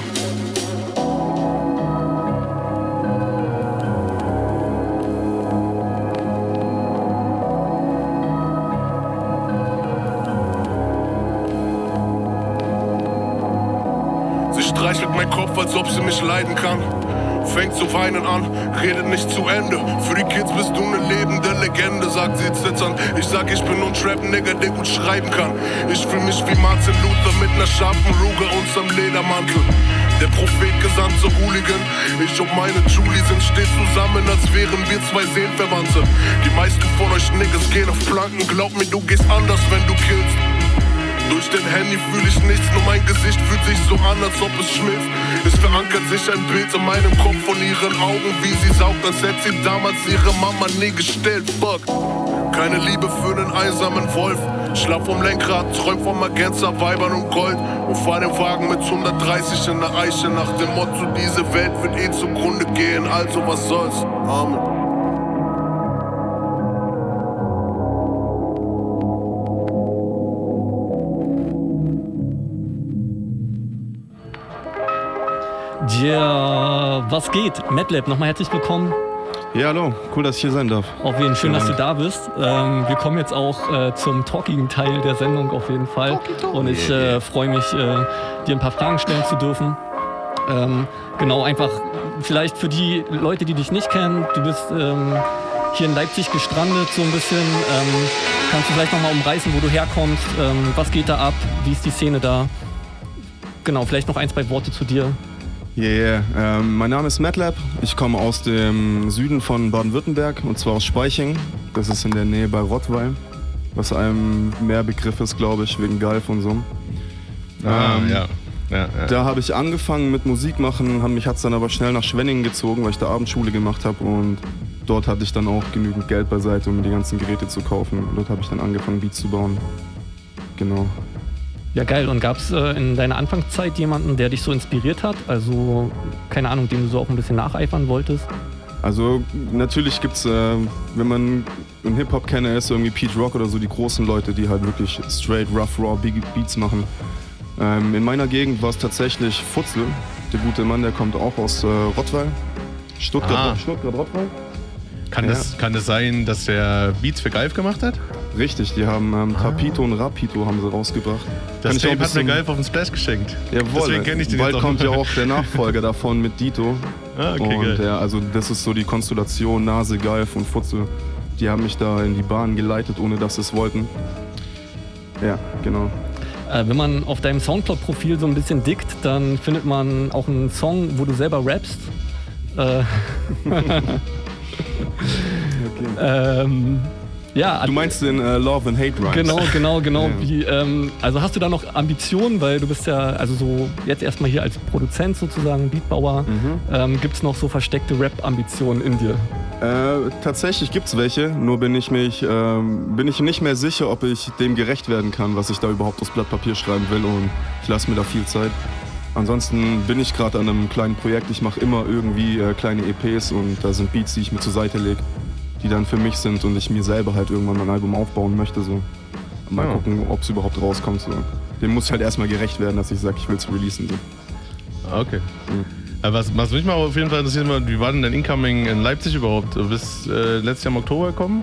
Streichelt mein Kopf, als ob sie mich leiden kann. Fängt zu weinen an, redet nicht zu Ende. Für die Kids bist du eine lebende Legende, sagt sie zitternd. Ich sag, ich bin nur ein Trap-Nigger, der gut schreiben kann. Ich fühl mich wie Martin Luther mit ner scharfen Ruge unterm Ledermantel. Der Prophet gesandte Hooligan. Ich und meine Julie sind stets zusammen, als wären wir zwei Seelenverwandte. Die meisten von euch Niggas gehen auf Planken. Glaub mir, du gehst anders, wenn du killst. Durch den Handy fühl ich nichts, nur mein Gesicht fühlt sich so an, als ob es schmilzt. Es verankert sich ein Bild in meinem Kopf von ihren Augen, wie sie saugt, als hätte sie damals ihre Mama nie gestellt. Fuck. Keine Liebe für einen einsamen Wolf. Schlaf vom Lenkrad, träum von Magenta, Weibern und Gold. Und fahr den Wagen mit hundertdreißig in der Eiche nach dem Motto, diese Welt wird eh zugrunde gehen, also was soll's. Amen. Ja, was geht? Madlab, nochmal herzlich willkommen. Ja, hallo, cool, dass ich hier sein darf. Auf jeden Fall schön, ja. dass du da bist. Ähm, wir kommen jetzt auch äh, zum talkigen Teil der Sendung auf jeden Fall. Talky, talky. Und ich äh, freue mich, äh, dir ein paar Fragen stellen zu dürfen. Ähm, genau, einfach vielleicht für die Leute, die dich nicht kennen, du bist ähm, hier in Leipzig gestrandet so ein bisschen. Ähm, kannst du vielleicht nochmal umreißen, wo du herkommst? Ähm, was geht da ab? Wie ist die Szene da? Genau, vielleicht noch ein, zwei Worte zu dir. Yeah, yeah. Ähm, mein Name ist Madlab. Ich komme aus dem Süden von Baden-Württemberg und zwar aus Speiching. Das ist in der Nähe bei Rottweil, was einem mehr Begriff ist, glaube ich, wegen Galf und so. Ah, ähm, ja. Ja, ja. Da habe ich angefangen mit Musik machen, mich hat es dann aber schnell nach Schwenningen gezogen, weil ich da Abendschule gemacht habe und dort hatte ich dann auch genügend Geld beiseite, um die ganzen Geräte zu kaufen. Und dort habe ich dann angefangen, Beats zu bauen. Genau. Ja, geil. Und gab es äh, in deiner Anfangszeit jemanden, der dich so inspiriert hat? Also, keine Ahnung, dem du so auch ein bisschen nacheifern wolltest? Also, natürlich gibt's, äh, wenn man einen Hip-Hop-Kenner ist, irgendwie Pete Rock oder so, die großen Leute, die halt wirklich straight, rough, raw Beats machen. Ähm, in meiner Gegend war es tatsächlich Futzel, der gute Mann, der kommt auch aus äh, Rottweil. Stuttgart, ah. Stuttgart, Rottweil. Kann, ja. das, kann das sein, dass der Beats für Galf gemacht hat? Richtig, die haben ähm, Tapito ah. und Rapito haben sie rausgebracht. Das Tape hat mir Galf auf den Splash geschenkt. Jawohl, deswegen kenne ich den bald jetzt auch. Kommt ja auch der Nachfolger davon mit Dito. Ah, okay, und geil. Ja, also das ist so die Konstellation Nase, Galf und Futzel. Die haben mich da in die Bahn geleitet, ohne dass sie es wollten. Ja, genau. Äh, wenn man auf deinem Soundcloud-Profil so ein bisschen dickt, dann findet man auch einen Song, wo du selber rappst. Äh Okay. ähm, ja, du meinst den äh, Love and Hate Rhymes? Genau, genau, genau. Ja. Wie, ähm, also hast du da noch Ambitionen, weil du bist ja also so jetzt erstmal hier als Produzent sozusagen, Beatbauer. Mhm. Ähm, gibt es noch so versteckte Rap-Ambitionen in dir? Äh, tatsächlich gibt's welche, nur bin ich mich ähm, bin ich nicht mehr sicher, ob ich dem gerecht werden kann, was ich da überhaupt aufs Blatt Papier schreiben will, und ich lasse mir da viel Zeit. Ansonsten bin ich gerade an einem kleinen Projekt. Ich mache immer irgendwie äh, kleine E Ps und da sind Beats, die ich mir zur Seite lege, die dann für mich sind und ich mir selber halt irgendwann mein Album aufbauen möchte. So. Mal ja. gucken, ob es überhaupt rauskommt. So. dem muss ich halt erstmal gerecht werden, dass ich sage, ich will es releasen. So. Okay. Mhm. Was, was mich mal auf jeden Fall interessiert, wie war denn dein Incoming in Leipzig überhaupt? Du bist äh, letztes Jahr im Oktober gekommen.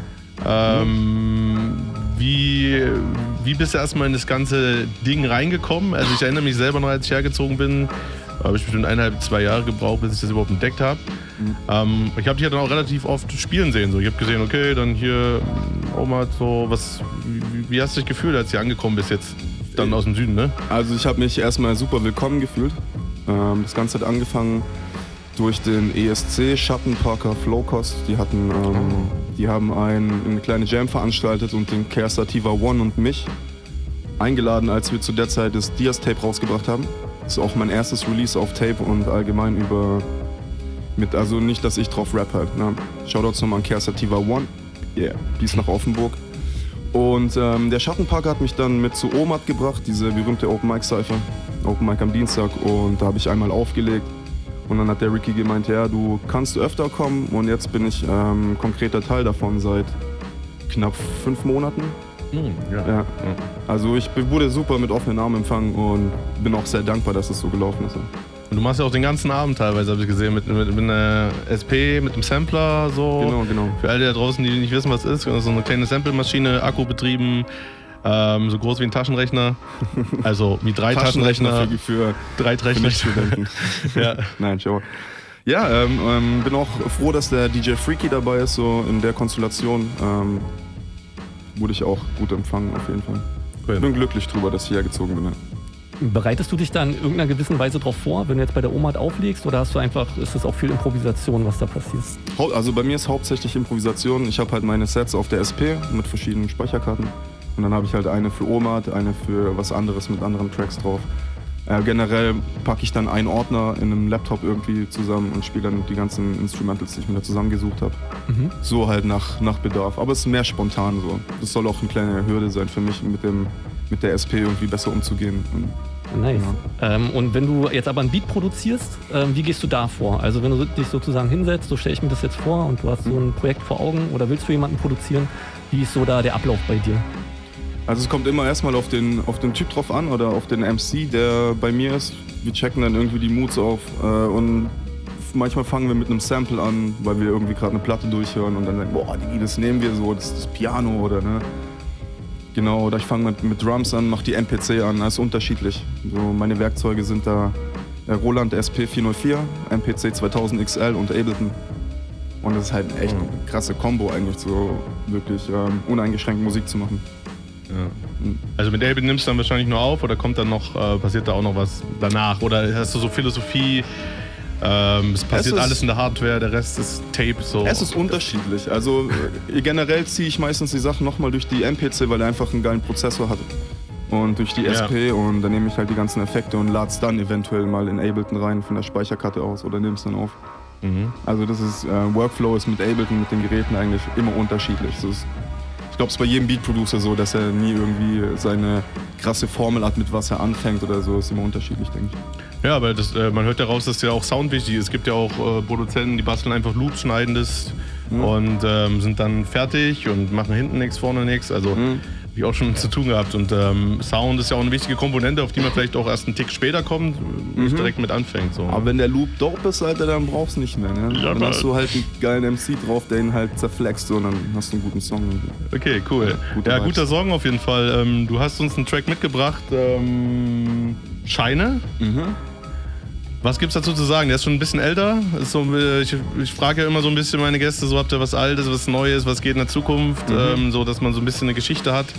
Ähm, mhm. wie, wie bist du erstmal in das ganze Ding reingekommen? Also ich erinnere mich selber noch, als ich hergezogen bin, habe ich bestimmt eineinhalb, zwei Jahre gebraucht, bis ich das überhaupt entdeckt habe. Mhm. Ähm, ich habe dich ja dann auch relativ oft spielen sehen. So. Ich habe gesehen, okay, dann hier Oma, so was. Wie, wie hast du dich gefühlt, als du hier angekommen bist jetzt dann aus dem Süden, ne? Also ich habe mich erstmal super willkommen gefühlt. Ähm, das Ganze hat angefangen durch den E S C, Schattenparker, Flowcost. Die hatten, ähm, die haben ein, eine kleine Jam veranstaltet und den Care Sativa One und mich eingeladen, als wir zu der Zeit das Diaz-Tape rausgebracht haben. Das ist auch mein erstes Release auf Tape und allgemein über, mit, also nicht, dass ich drauf rap halt. Ne? Shoutouts nochmal an Care Sativa One, yeah, die ist nach Offenburg. Und ähm, der Schattenparker hat mich dann mit zu Omat gebracht, diese berühmte Open Mic Cypher, Open Mic am Dienstag, und da habe ich einmal aufgelegt. Und dann hat der Ricky gemeint, ja, du kannst öfter kommen, und jetzt bin ich ähm, konkreter Teil davon seit knapp fünf Monaten. Mhm, ja. Ja. Also ich wurde super mit offenen Armen empfangen und bin auch sehr dankbar, dass es so gelaufen ist. Und du machst ja auch den ganzen Abend teilweise, habe ich gesehen, mit, mit, mit einer S P, mit einem Sampler, so. Genau, genau. Für alle da draußen, die nicht wissen, was es ist, so eine kleine Samplemaschine, Akku betrieben, ähm, so groß wie ein Taschenrechner. Also wie drei Taschenrechner. Taschenrechner für, für drei Rechenstudenten. Ja. Nein, schau. Ja, ähm, ähm, bin auch froh, dass der D J Freaky dabei ist, so in der Konstellation. Ähm, wurde ich auch gut empfangen, auf jeden Fall. Ich bin glücklich drüber, dass ich hergezogen bin. Bereitest du dich da in irgendeiner gewissen Weise drauf vor, wenn du jetzt bei der Omat auflegst, oder hast du einfach, ist das auch viel Improvisation, was da passiert? Also bei mir ist hauptsächlich Improvisation. Ich habe halt meine Sets auf der S P mit verschiedenen Speicherkarten. Und dann habe ich halt eine für Omat, eine für was anderes mit anderen Tracks drauf. Äh, generell packe ich dann einen Ordner in einem Laptop irgendwie zusammen und spiele dann die ganzen Instrumentals, die ich mir da zusammengesucht habe. Mhm. So halt nach, nach Bedarf. Aber es ist mehr spontan so. Das soll auch eine kleine Hürde sein für mich, mit, dem, mit der S P irgendwie besser umzugehen. Und, nice. Ja. Ähm, und wenn du jetzt aber ein Beat produzierst, ähm, wie gehst du da vor? Also wenn du dich sozusagen hinsetzt, so stelle ich mir das jetzt vor, und du hast so ein Projekt vor Augen oder willst für jemanden produzieren, wie ist so da der Ablauf bei dir? Also es kommt immer erstmal auf den, auf den Typ drauf an oder auf den M C, der bei mir ist. Wir checken dann irgendwie die Moods auf äh, und manchmal fangen wir mit einem Sample an, weil wir irgendwie gerade eine Platte durchhören und dann denken, boah, die, das nehmen wir so, das ist das Piano oder ne. Genau, oder ich fange mit, mit Drums an, mache die M P C an, das ist unterschiedlich. So, meine Werkzeuge sind da der Roland S P vier null vier, M P C zweitausend X L und Ableton. Und das ist halt echt eine krasse Kombo eigentlich, so wirklich ähm, uneingeschränkt Musik zu machen. Ja. Also mit Ableton nimmst du dann wahrscheinlich nur auf, oder kommt dann noch, äh, passiert da auch noch was danach? Oder hast du so Philosophie, ähm, es passiert es ist, alles in der Hardware, der Rest ist Tape? So. Es ist unterschiedlich. Also äh, generell ziehe ich meistens die Sachen nochmal durch die M P C, weil er einfach einen geilen Prozessor hat. Und durch die S P, ja. Und dann nehme ich halt die ganzen Effekte und lade es dann eventuell mal in Ableton rein von der Speicherkarte aus oder nehme es dann auf. Mhm. Also das ist, äh, Workflow ist mit Ableton, mit den Geräten eigentlich immer unterschiedlich. Das ist, ich glaube, es ist bei jedem Beat-Producer so, dass er nie irgendwie seine krasse Formel hat, mit was er anfängt oder so. Ist immer unterschiedlich, denke ich. Ja, aber das, äh, man hört ja raus, dass ja auch Sound wichtig ist. Es gibt ja auch äh, Produzenten, die basteln einfach Loops, schneiden das mhm. und ähm, sind dann fertig und machen hinten nichts, vorne nichts. Also mhm. habe ich auch schon zu tun gehabt. Und ähm, Sound ist ja auch eine wichtige Komponente, auf die man vielleicht auch erst einen Tick später kommt, nicht mhm. direkt mit anfängt. So. Aber wenn der Loop dope ist, Alter, dann brauchst du nicht mehr. Ne? Ja, dann hast du halt einen geilen M C drauf, der ihn halt zerflext, so, und dann hast du einen guten Song. Okay, cool. Ja, ja, guter Song auf jeden Fall. Ähm, du hast uns einen Track mitgebracht, ähm, Scheine. Mhm. Was gibt's dazu zu sagen? Der ist schon ein bisschen älter. Ist so, ich ich frage ja immer so ein bisschen meine Gäste, so habt ihr was Altes, was Neues, was geht in der Zukunft, mhm. ähm, so dass man so ein bisschen eine Geschichte hat.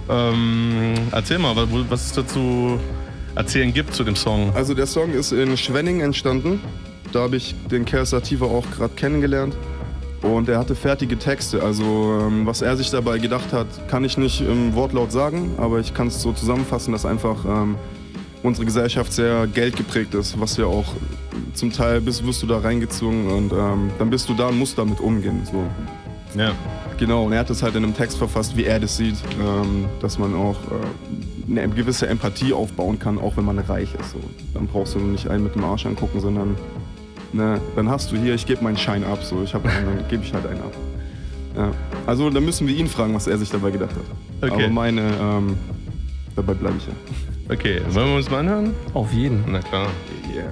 Ähm, erzähl mal, was es dazu erzählen gibt zu dem Song. Also der Song ist in Schwenning entstanden. Da habe ich den Care Sativa auch gerade kennengelernt. Und er hatte fertige Texte. Also ähm, was er sich dabei gedacht hat, kann ich nicht im Wortlaut sagen, aber ich kann es so zusammenfassen, dass einfach ähm, unsere Gesellschaft sehr geldgeprägt ist, was ja auch zum Teil bist, wirst du da reingezogen und ähm, dann bist du da und musst damit umgehen. So. Ja. Genau, und er hat es halt in einem Text verfasst, wie er das sieht, ähm, dass man auch äh, eine gewisse Empathie aufbauen kann, auch wenn man reich ist. So. Dann brauchst du nicht einen mit dem Arsch angucken, sondern ne, dann hast du hier, ich gebe meinen Schein ab, so. Ich hab einen, dann gebe ich halt einen ab. Ja. Also da müssen wir ihn fragen, was er sich dabei gedacht hat. Okay. Aber meine... Ähm, dabei bleibe ich ja. Okay, wollen wir uns mal anhören? Auf jeden. Na klar. Yeah.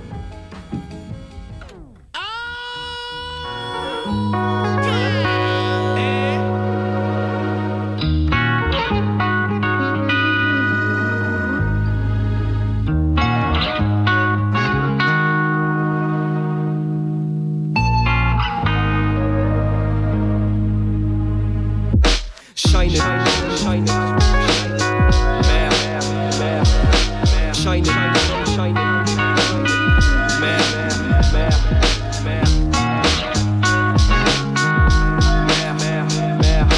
Scheine, Scheine, mehr, mehr, mehr, Scheine, Scheine, mehr, mehr, mehr, mehr, mehr, mehr,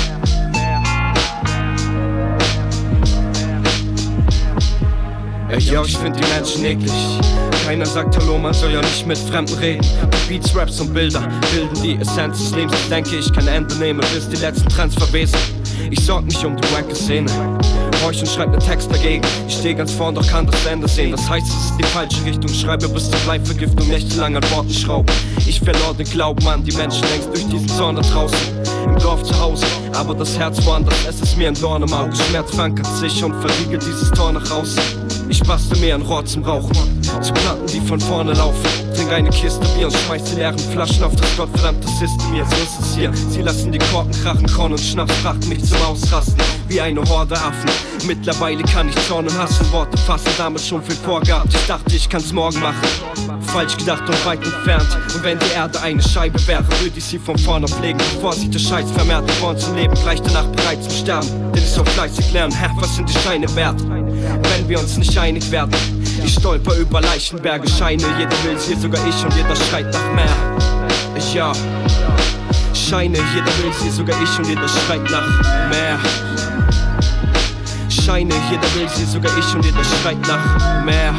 mehr. Ey, yo, ich find die Menschen eklig. Keiner sagt Hallo, man soll ja nicht mit Fremden reden. Die Beats, Raps und Bilder bilden die Essenz des Lebens. Ich denke, ich kann Ende nehmen, bis die letzten Trends verwesen. Ich sorg mich um die wanke Szene. Horch und schreib ne Text dagegen. Ich steh ganz vorn, doch kann das Ende sehen. Das heißt, es ist die falsche Richtung. Schreibe bis zur Bleivergiftung, nächtelang an Worten schrauben. Ich verlor den Glauben an die Menschen längst durch diesen Zorn da draußen. Im Dorf zu Hause, aber das Herz woanders. Es ist mir ein Dorn im Auge. Schmerz verankert sich und verriegelt dieses Tor nach außen. Ich bastel mir ein Rohr zum Rauchen, zu Platten, die von vorne laufen. Trink eine Kiste Bier und schmeiß die leeren Flaschen auf das gottverdammte System. Jetzt ist es hier. Sie lassen die Korken krachen, Korn und Schnaps brachten mich zum Ausrasten. Wie eine Horde Affen. Mittlerweile kann ich Zorn und Hass in Worte fassen, damit schon viel vorgehabt. Ich dachte, ich kann's morgen machen. Falsch gedacht und weit entfernt. Und wenn die Erde eine Scheibe wäre, würde ich sie von vorne pflegen, bevor sich der Scheiß vermehrt. Geboren zum Leben, gleich danach bereit zum Sterben. Denn ich soll fleißig lernen, hä, was sind die Scheine wert? Wenn wir uns nicht einig werden. Ich stolper über Leichenberge, Scheine, jeder will's hier, sogar ich, und jeder schreit nach mehr. Ich ja, Scheine, jeder will's hier, sogar ich, und jeder schreit nach mehr. Scheine, jeder will's hier, sogar ich, und jeder schreit nach mehr.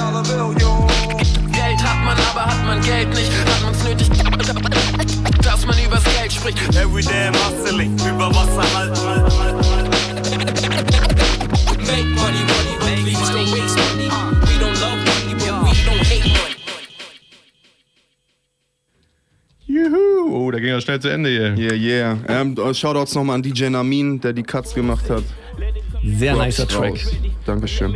Geld hat man, aber hat man Geld nicht, hat man's nötig, dass man übers Geld spricht. Everyday hustling, über Wasser halten. Make money, money, money, please don't waste money. We don't love money, but we don't hate money. Juhu, oh, da ging er schnell zu Ende hier. Yeah, yeah. Ähm, Shoutouts nochmal an D J Namin, der die Cuts gemacht hat. Sehr Props nicer Track. raus. Dankeschön.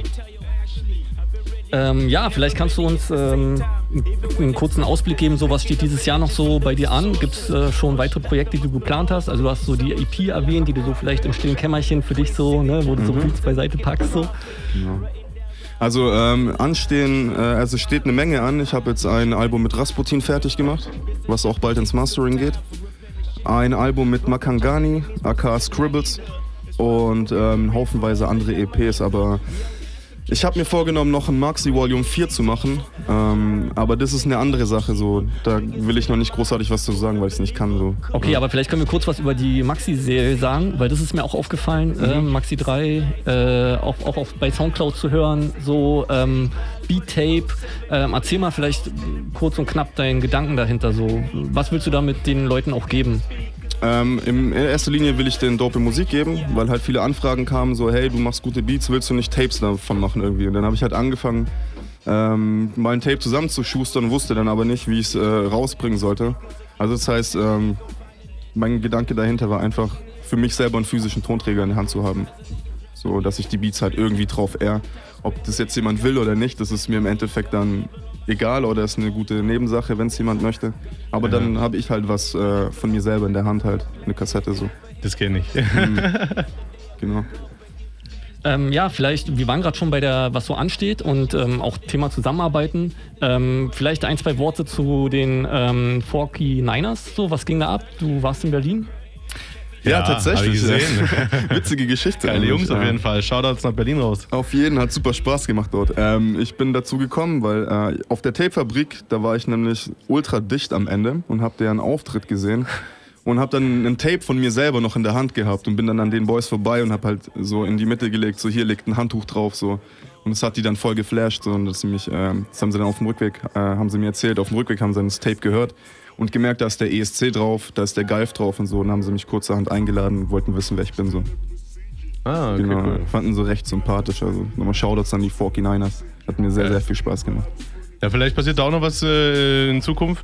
Ähm, ja, vielleicht kannst du uns ähm, einen kurzen Ausblick geben, so was steht dieses Jahr noch so bei dir an? Gibt es äh, schon weitere Projekte, die du geplant hast? Also du hast so die E P erwähnt, die du so vielleicht im stillen Kämmerchen für dich so, ne, wo du mhm. so Beats beiseite packst so. Ja. Also ähm, anstehen, äh, also steht eine Menge an. Ich habe jetzt ein Album mit Rasputin fertig gemacht, was auch bald ins Mastering geht. Ein Album mit Makangani, aka Scribbles, und ähm, haufenweise andere E Ps, aber ich habe mir vorgenommen, noch ein Maxi Volume vier zu machen, ähm, aber das ist eine andere Sache, so. Da will ich noch nicht großartig was zu sagen, weil ich es nicht kann. So. Okay, ja. Aber vielleicht können wir kurz was über die Maxi-Serie sagen, weil das ist mir auch aufgefallen, mhm. äh, Maxi drei, äh, auch, auch auf, bei Soundcloud zu hören, so ähm, Beat-Tape. Ähm, erzähl mal vielleicht kurz und knapp deinen Gedanken dahinter, so. Was willst du damit den Leuten auch geben? Ähm, in erster Linie will ich denen dope Musik geben, weil halt viele Anfragen kamen, so hey, du machst gute Beats, willst du nicht Tapes davon machen irgendwie? Und dann habe ich halt angefangen, ähm, mal ein Tape zusammenzuschustern, wusste dann aber nicht, wie ich es äh, rausbringen sollte. Also das heißt, ähm, mein Gedanke dahinter war einfach, für mich selber einen physischen Tonträger in der Hand zu haben. So, dass ich die Beats halt irgendwie drauf ehr. Ob das jetzt jemand will oder nicht, das ist mir im Endeffekt dann egal, oder ist eine gute Nebensache, wenn es jemand möchte. Aber ja. Dann habe ich halt was äh, von mir selber in der Hand, halt eine Kassette so. Das kenne ich. Mhm. Genau. Ähm, ja, vielleicht, wir waren gerade schon bei der, was so ansteht und ähm, auch Thema Zusammenarbeiten. Ähm, vielleicht ein, zwei Worte zu den ähm, forty-niners, so, was ging da ab? Du warst in Berlin? Ja, ja, tatsächlich. Gesehen. Witzige Geschichte. Geile Jungs auf jeden Fall. Shoutouts nach Berlin raus. Auf jeden, hat super Spaß gemacht dort. Ähm, ich bin dazu gekommen, weil äh, auf der Tapefabrik, da war ich nämlich ultra dicht am Ende und hab deren Auftritt gesehen und hab dann ein Tape von mir selber noch in der Hand gehabt und bin dann an den Boys vorbei und hab halt so in die Mitte gelegt, so hier liegt ein Handtuch drauf, so. Und das hat die dann voll geflasht, so. Und das, mich, äh, das haben sie dann auf dem Rückweg, äh, haben sie mir erzählt, auf dem Rückweg haben sie das Tape gehört. Und gemerkt, da ist der E S C drauf, da ist der Geif drauf und so. Und dann haben sie mich kurzerhand eingeladen und wollten wissen, wer ich bin. So. Ah, okay, genau. Cool. Fanden sie recht sympathisch. Also nochmal Shoutouts an die forty-niners. Hat mir sehr, ja. sehr viel Spaß gemacht. Ja, vielleicht passiert da auch noch was äh, in Zukunft.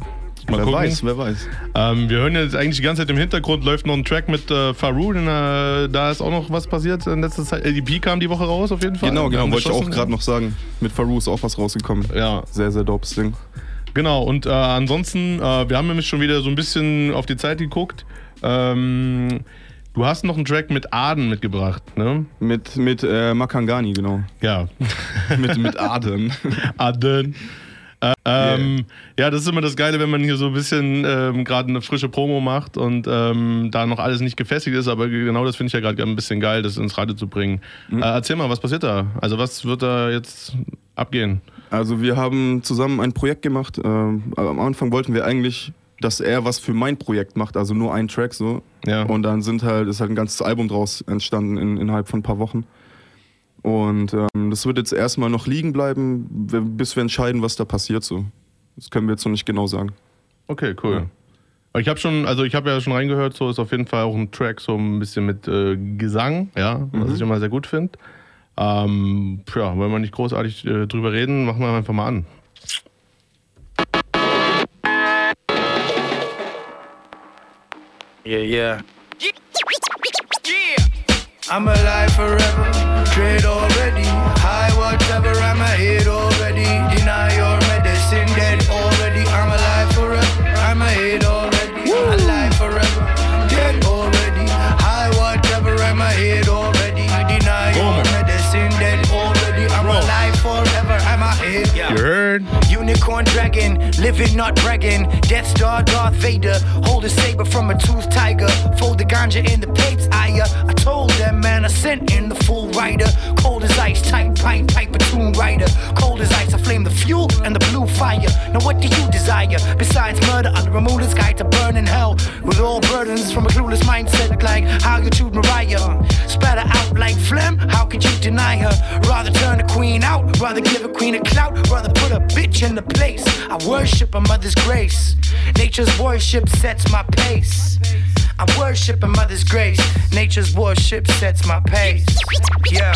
Mal wer gucken. weiß, wer weiß. Ähm, wir hören jetzt eigentlich die ganze Zeit im Hintergrund, läuft noch ein Track mit äh, Faru, denn, äh, da ist auch noch was passiert in letzter Zeit. L D P kam die Woche raus auf jeden Fall. Genau, genau, ja, wollte ich auch gerade noch sagen. Mit Faru ist auch was rausgekommen. Ja. Sehr, sehr dopes Ding. Genau, und äh, ansonsten, äh, wir haben nämlich schon wieder so ein bisschen auf die Zeit geguckt. Ähm, du hast noch einen Track mit Aden mitgebracht, ne? Mit, mit äh, Makangani, genau. Ja. mit, mit Aden. Aden. Äh, ähm, yeah. Ja, das ist immer das Geile, wenn man hier so ein bisschen ähm, gerade eine frische Promo macht und ähm, da noch alles nicht gefestigt ist, aber genau das finde ich ja gerade ein bisschen geil, das ins Radio zu bringen. Mhm. Äh, erzähl mal, was passiert da? Also was wird da jetzt abgehen? Also wir haben zusammen ein Projekt gemacht. Ähm, am Anfang wollten wir eigentlich, dass er was für mein Projekt macht, also nur einen Track so. Ja. Und dann sind halt, ist halt ein ganzes Album draus entstanden in, innerhalb von ein paar Wochen. Und ähm, das wird jetzt erstmal noch liegen bleiben, bis wir entscheiden, was da passiert so. Das können wir jetzt noch nicht genau sagen. Okay, cool. Ja. Aber ich habe schon, also ich habe ja schon reingehört, so ist auf jeden Fall auch ein Track so ein bisschen mit äh, Gesang, ja, was mhm. ich immer sehr gut finde. Ähm, ja, wollen wir nicht großartig äh, drüber reden, machen wir einfach mal an. Yeah, yeah. I'm alive forever, trade already. High whatever, I'm a hit already. Deny your medicine, dead already. I'm alive forever, I'm a hit already. Alive forever, dead already. High whatever, I'm a hit already. Deny your medicine, dead already. I'm alive forever, I'm a hit. You heard? Unicorn dragon, living not bragging. Death Star, Darth Vader, hold a saber from a toothed tiger. Fold the ganja in the plates, I uh, I told them, man, I sent in the full rider. Cold as ice, tight pint, pipe, tomb rider. Cold as ice, I flame the fuel and the blue fire. Now what do you desire? Besides murder, I'll remove the sky to burn in hell. With all burdens from a clueless mindset, like how you chewed Mariah. Spatter out like phlegm, how could you deny her? Rather turn a queen out, rather give a queen a clout, rather put a bitch in the place. I worship a mother's grace. Nature's worship sets my pace. I worship a mother's grace. Nature's worship sets my pace. Yeah.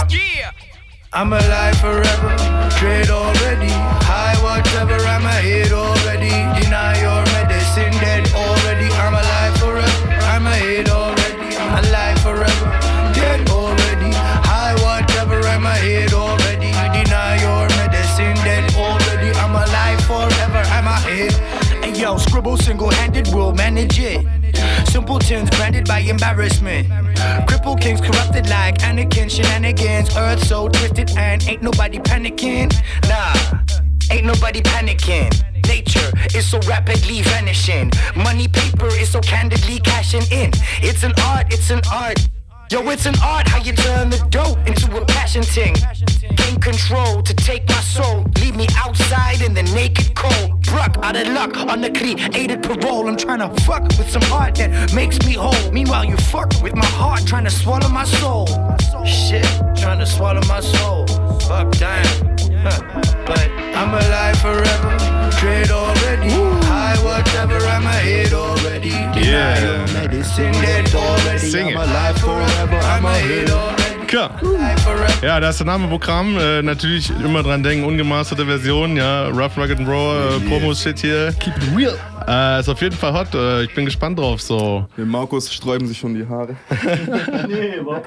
I'm alive forever, trade already. High whatever, I'm a hit already. Deny your medicine, dead already. I'm alive forever, I'm a hit already. Alive forever, dead already. High whatever, I'm a hit already. Deny your medicine, dead already. I'm alive forever, I'm a hit. And yo, scribble single-handed, we'll manage it. Simpletons branded by embarrassment. Cripple kings corrupted like Anakin. Shenanigans, earth so twisted and ain't nobody panicking. Nah, ain't nobody panicking. Nature is so rapidly vanishing. Money paper is so candidly cashing in. It's an art, it's an art. Yo, it's an art how you turn the dope into a passion thing. Gain control to take my soul. Leave me outside in the naked cold. Bruck out of luck on the created parole. I'm trying to fuck with some art that makes me whole. Meanwhile, you fuck with my heart, trying to swallow my soul. Shit, trying to swallow my soul. Fuck, damn. Huh. But I'm alive forever. Trade already. High whatever, I'm a hit already. Yeah. Medicine dead already. Sing I'm it. alive forever, I'm a hit already. Klar. Ja, da ist der Name Programm. Äh, natürlich immer dran denken, ungemasterte Version, ja. Rough, Rugged and Raw, äh, Promo-Shit hier. Keep it real. Äh, ist auf jeden Fall hot. Äh, ich bin gespannt drauf. So. Dem Markus sträuben sich schon die Haare. Nee, überhaupt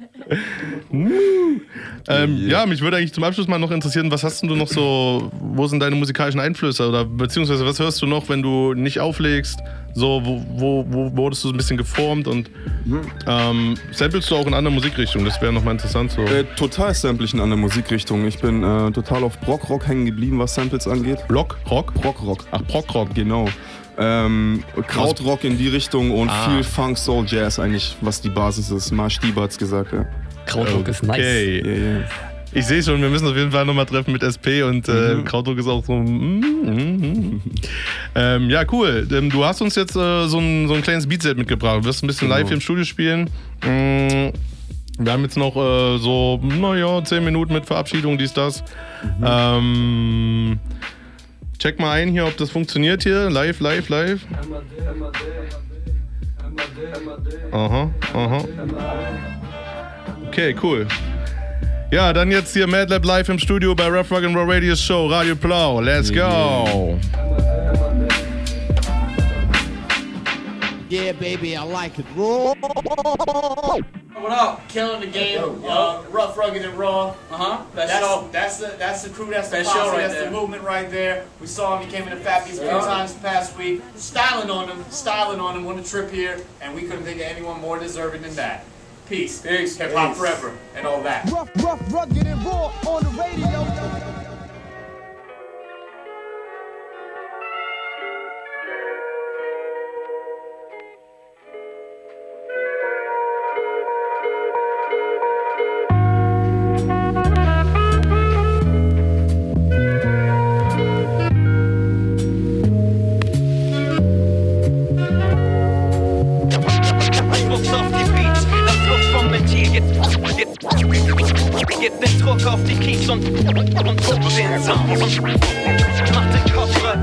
nicht. ähm, ja, mich würde eigentlich zum Abschluss mal noch interessieren, was hast du noch so, wo sind deine musikalischen Einflüsse? Oder beziehungsweise was hörst du noch, wenn du nicht auflegst? So, wo, wo, wo wurdest du so ein bisschen geformt und ähm, samplest du auch in anderen Musikrichtungen? Das wäre nochmal interessant. So. Äh, total sample ich in anderen Musikrichtungen. Ich bin äh, total auf Brockrock hängen geblieben, was Samples angeht. Block? Rock? Brockrock. Ach, Brockrock. Genau. Ähm, Krautrock in die Richtung und ah. viel Funk, Soul, Jazz eigentlich, was die Basis ist. Marsch Stieber hat's gesagt, ja. Krautrock okay. ist nice. Okay. Yeah, yeah. Ich sehe schon, wir müssen auf jeden Fall nochmal treffen mit S P und äh, mhm. Krautrock ist auch so. Mm, mm, mm. ähm, ja, cool. Ähm, du hast uns jetzt äh, so, ein, so ein kleines Beatset mitgebracht. Du wirst ein bisschen genau. live hier im Studio spielen. Mm, wir haben jetzt noch äh, so, naja, zehn Minuten mit Verabschiedung, dies, das. Mhm. Ähm, check mal ein hier, ob das funktioniert hier. Live, live, live. Aha, aha. Okay, cool. Ja, dann jetzt hier Madlab live im Studio bei Rough, Rugged and Raw Radio Show, Radio Plau. Let's go! Yeah, baby, I like it. Raw. What up? Killing the game. Uh, rough, rugged, and raw. Uh huh. That's That's, that's the that's the crew. That's the That show posse. right That's there. the movement right there. We saw him. He came in the Fat Beats a few Yeah. times the past week. Styling on him, styling on him on the trip here, and we couldn't think of anyone more deserving than that. Peace. Peace. Hip hop Peace. forever and all that. Rough, rough, rugged, and raw on the radio. Druck auf die Beats, lass Luft vom Ventil. Gib, gib, gib den Druck auf die Keys und, und druck den Sound. Mach den Kopf frei.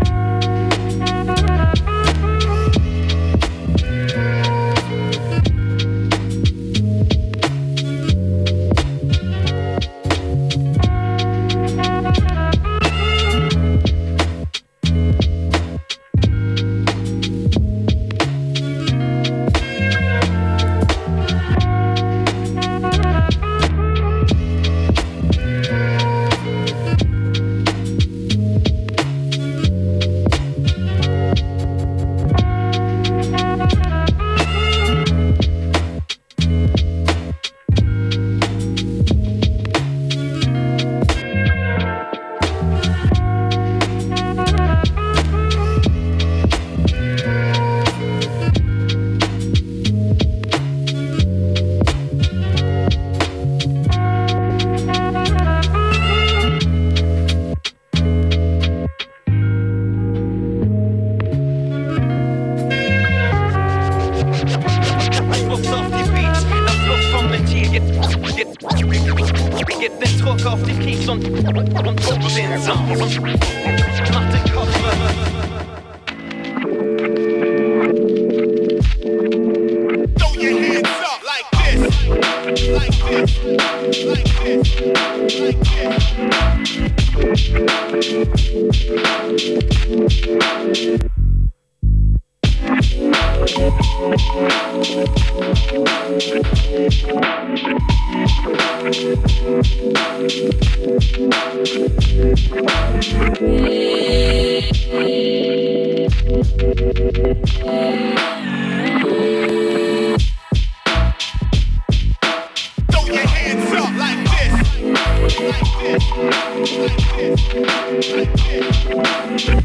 Druck auf die Beats, lass Luft vom Ventil. Gib, gib, gib den Druck auf die Keys und, und druck den Sound. Mach den Kopf frei. Throw your hands up like this, like this, like this, like this. Throw your hands up like this, like this, like this, like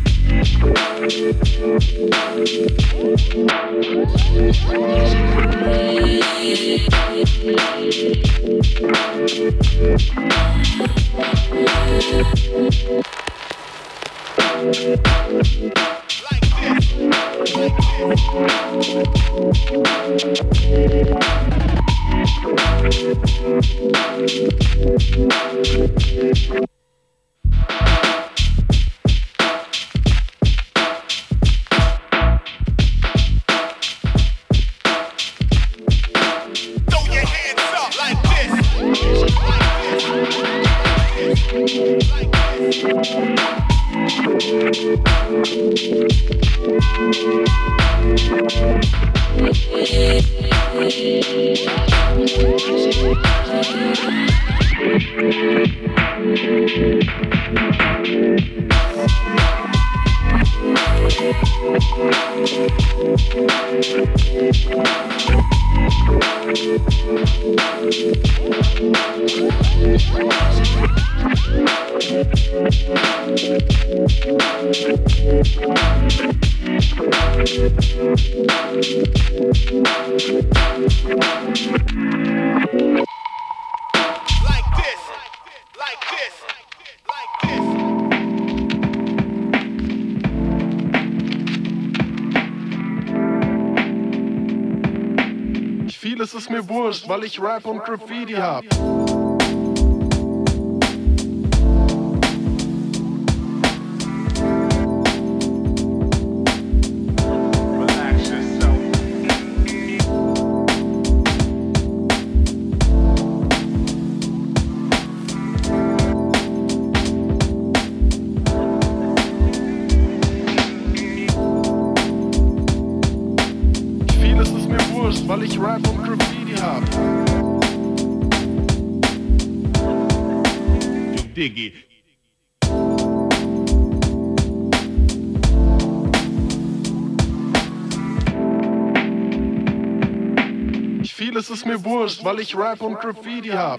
Vieles ist mir wurscht, weil ich Rap und Graffiti hab. weil ich Rap und Graffiti hab. Diggy. Vieles ist mir wurscht, weil ich Rap und Graffiti hab.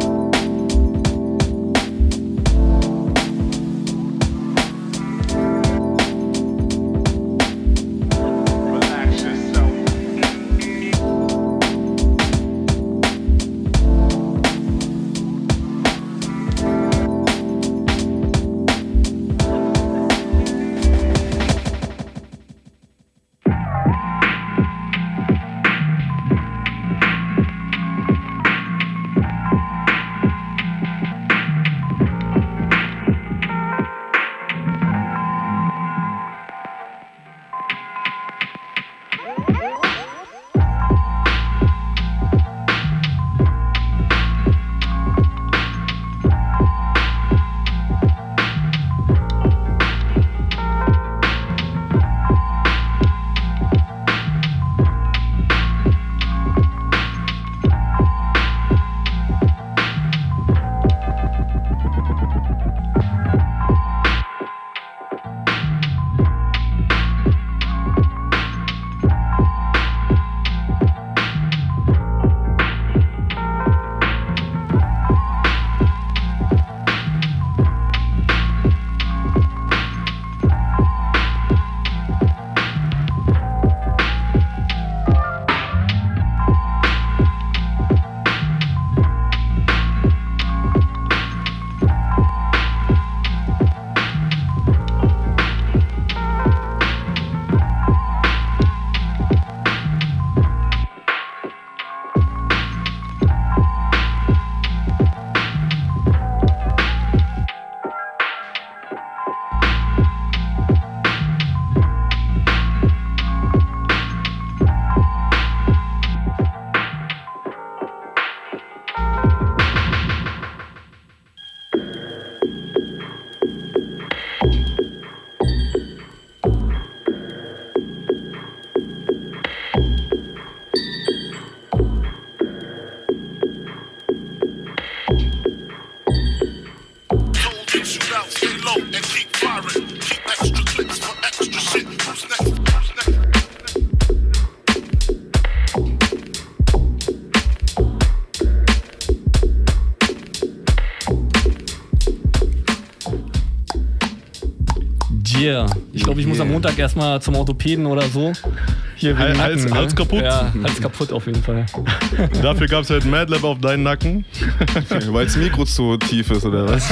Yeah. Ich glaube, ich muss am Montag erstmal zum Orthopäden oder so. Hier Hals, Nacken, Hals, ne? Hals kaputt? Ja, Hals kaputt auf jeden Fall. Dafür gab es halt Madlab auf deinen Nacken. Weil das Mikro zu tief ist, oder was?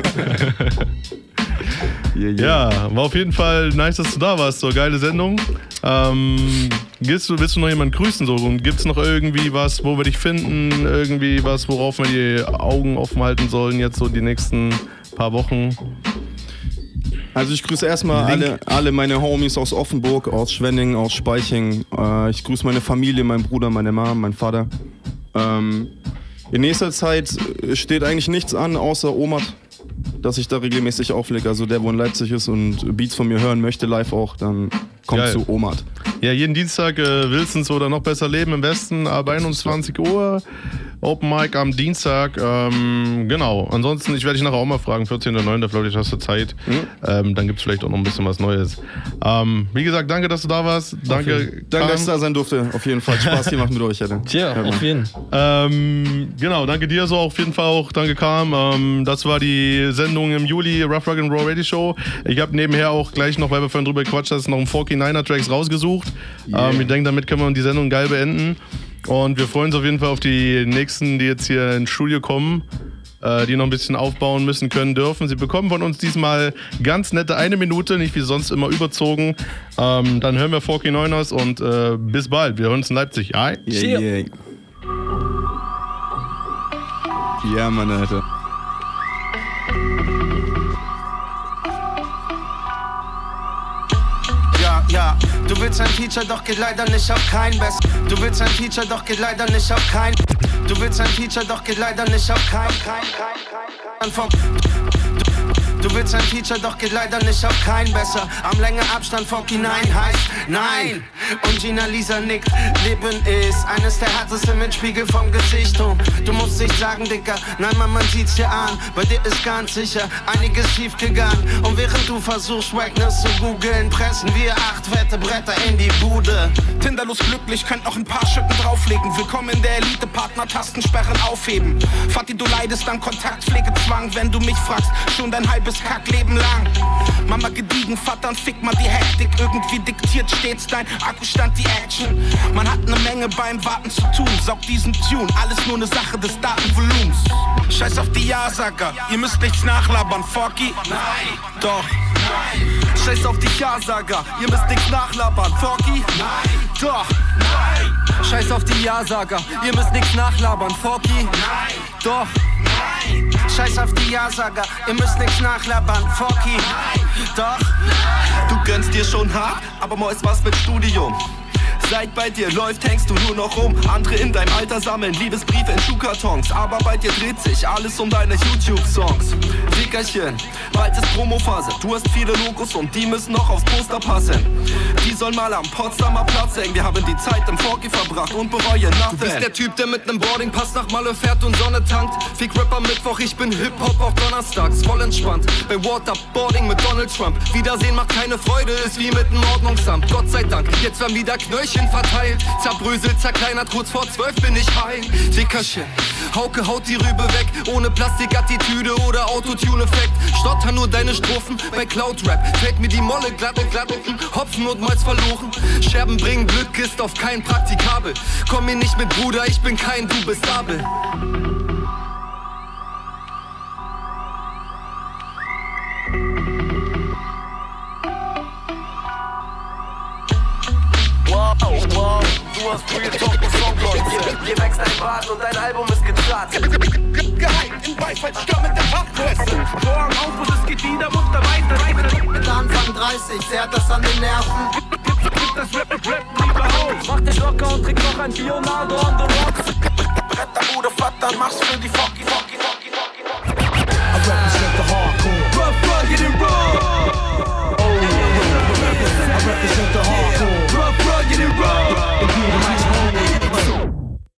yeah, yeah. Ja, war auf jeden Fall nice, dass du da warst. So, geile Sendung. Ähm, willst, du, willst du noch jemanden grüßen? So? Und gibt es noch irgendwie was, wo wir dich finden? Irgendwie was, worauf wir die Augen offen halten sollen jetzt so die nächsten paar Wochen? Also ich grüße erstmal alle, alle meine Homies aus Offenburg, aus Schwenning, aus Speiching. Äh, ich grüße meine Familie, meinen Bruder, meine Mom, meinen Vater. Ähm, in nächster Zeit steht eigentlich nichts an, außer Omat, dass ich da regelmäßig auflege. Also der, wo in Leipzig ist und Beats von mir hören möchte, live auch, dann kommt Geil. zu Omat. Ja, jeden Dienstag äh, Wilsons oder noch besser leben im Westen, ab einundzwanzig Uhr. Open Mic am Dienstag. Ähm, genau. Ansonsten, ich werde dich nachher auch mal fragen, vierzehnter neunter vielleicht hast du Zeit. Mhm. Ähm, dann gibt es vielleicht auch noch ein bisschen was Neues. Ähm, wie gesagt, danke, dass du da warst. Danke, danke, dass ich da sein durfte. Auf jeden Fall Spaß gemacht mit euch. Hätte. Tja, ja, auf jeden Fall. Ähm, genau, danke dir so auf jeden Fall auch. Danke, Kam. Ähm, das war die Sendung im Juli, Rough Rock and Roll Radio Show. Ich habe nebenher auch gleich noch, weil wir vorhin drüber gequatscht haben, noch einen forty-niner-Tracks rausgesucht. Yeah. Ähm, ich denke, damit können wir die Sendung geil beenden. Und wir freuen uns auf jeden Fall auf die nächsten, die jetzt hier ins Studio kommen, äh, die noch ein bisschen aufbauen müssen, können, dürfen. Sie bekommen von uns diesmal ganz nette eine Minute, nicht wie sonst immer überzogen. Ähm, dann hören wir forty-niners und äh, bis bald. Wir hören uns in Leipzig. Ja, yeah, yeah. Ja, Mann, Alter. Ja, du willst ein Feature, doch geht leider nicht auf kein Best. Du willst ein Feature, doch geht leider nicht auf kein. Du willst ein Feature, doch geht leider nicht auf kein. kein, kein, kein, kein vom Du willst ein Feature, doch geht leider nicht auf kein besser. Am länger Abstand neunundvierzig heißt nein. Und Gina Lisa nickt, Leben ist eines der härtesten Mitspiegel vom Gesicht. Und du musst nicht sagen, Dicker, nein, Mann, man sieht's dir an. Bei dir ist ganz sicher einiges schief gegangen. Und während du versuchst, Wackness zu googeln, pressen wir acht fette Bretter in die Bude. Tinderlos glücklich, könnt noch ein paar Schippen drauflegen. Willkommen in der Elite, Partner, Tastensperren aufheben. Vati, du leidest an Kontaktpflegezwang, wenn du mich fragst, schon dein halbes Kackleben lang. Mama gediegen, Vater und fick mal die Hektik. Irgendwie diktiert stets dein Akkustand die Action. Man hat ne Menge beim Warten zu tun. Saug diesen Tune, alles nur ne Sache des Datenvolumens. Scheiß auf die Ja-Sager, ihr müsst nichts nachlabern, Forky. Nein, doch. Nein. Scheiß auf die Ja-Sager, ihr müsst nichts nachlabern, Forky. Nein, doch. Nein. Scheiß auf die Ja-Sager, ihr müsst nichts nachlabern, Forky. Nein, doch. Nein. Scheiß auf die Ja-Sager, ihr müsst nichts nachlabern, Forky. Nein, doch. Du gönnst dir schon hart, aber Mois was mit Studium. Seit bei dir läuft, hängst du nur noch rum. Andere in deinem Alter sammeln Liebesbriefe in Schuhkartons. Aber bei dir dreht sich alles um deine YouTube-Songs. Dickerchen, bald ist Promophase. Du hast viele Logos und die müssen noch aufs Poster passen. Die sollen mal am Potsdamer Platz hängen. Wir haben die Zeit im Forky verbracht und bereuen nothing. Du bist der Typ, der mit nem Boardingpass nach Malle fährt und Sonne tankt. Fick Rapper Mittwoch, ich bin Hip-Hop auch donnerstags. Voll entspannt, bei Waterboarding mit Donald Trump. Wiedersehen macht keine Freude, ist wie mit dem Ordnungsamt. Gott sei Dank, jetzt werden wieder Knöllchen verteilt, zerbröselt, zerkleinert, kurz vor zwölf bin ich heil. Dickerchen, Hauke haut die Rübe weg, ohne Plastikattitüde oder Autotune-Effekt. Stotter nur deine Strophen bei Cloud-Rap. Fällt mir die Molle glatt und glatt unten, Hopfen und Malz verloren. Scherben bringen Glück, ist auf kein Praktikabel. Komm mir nicht mit Bruder, ich bin kein, du bist Abel. Wow, wow, du hast Real Talk und Songleute. Hier wächst ein Bart und dein Album ist gezahlt. Gehypt im Beifall, stürmende Fachpresse. Vorhang auf und es geht wieder munter weiter. Mit Anfang dreißig zerrt das an den Nerven. Gib das Rap und Rap lieber auf. Mach dich locker und trink noch ein Leonardo on the rocks. Bretter, Bruder, Vater, mach's für die Forky, Forky, Forky.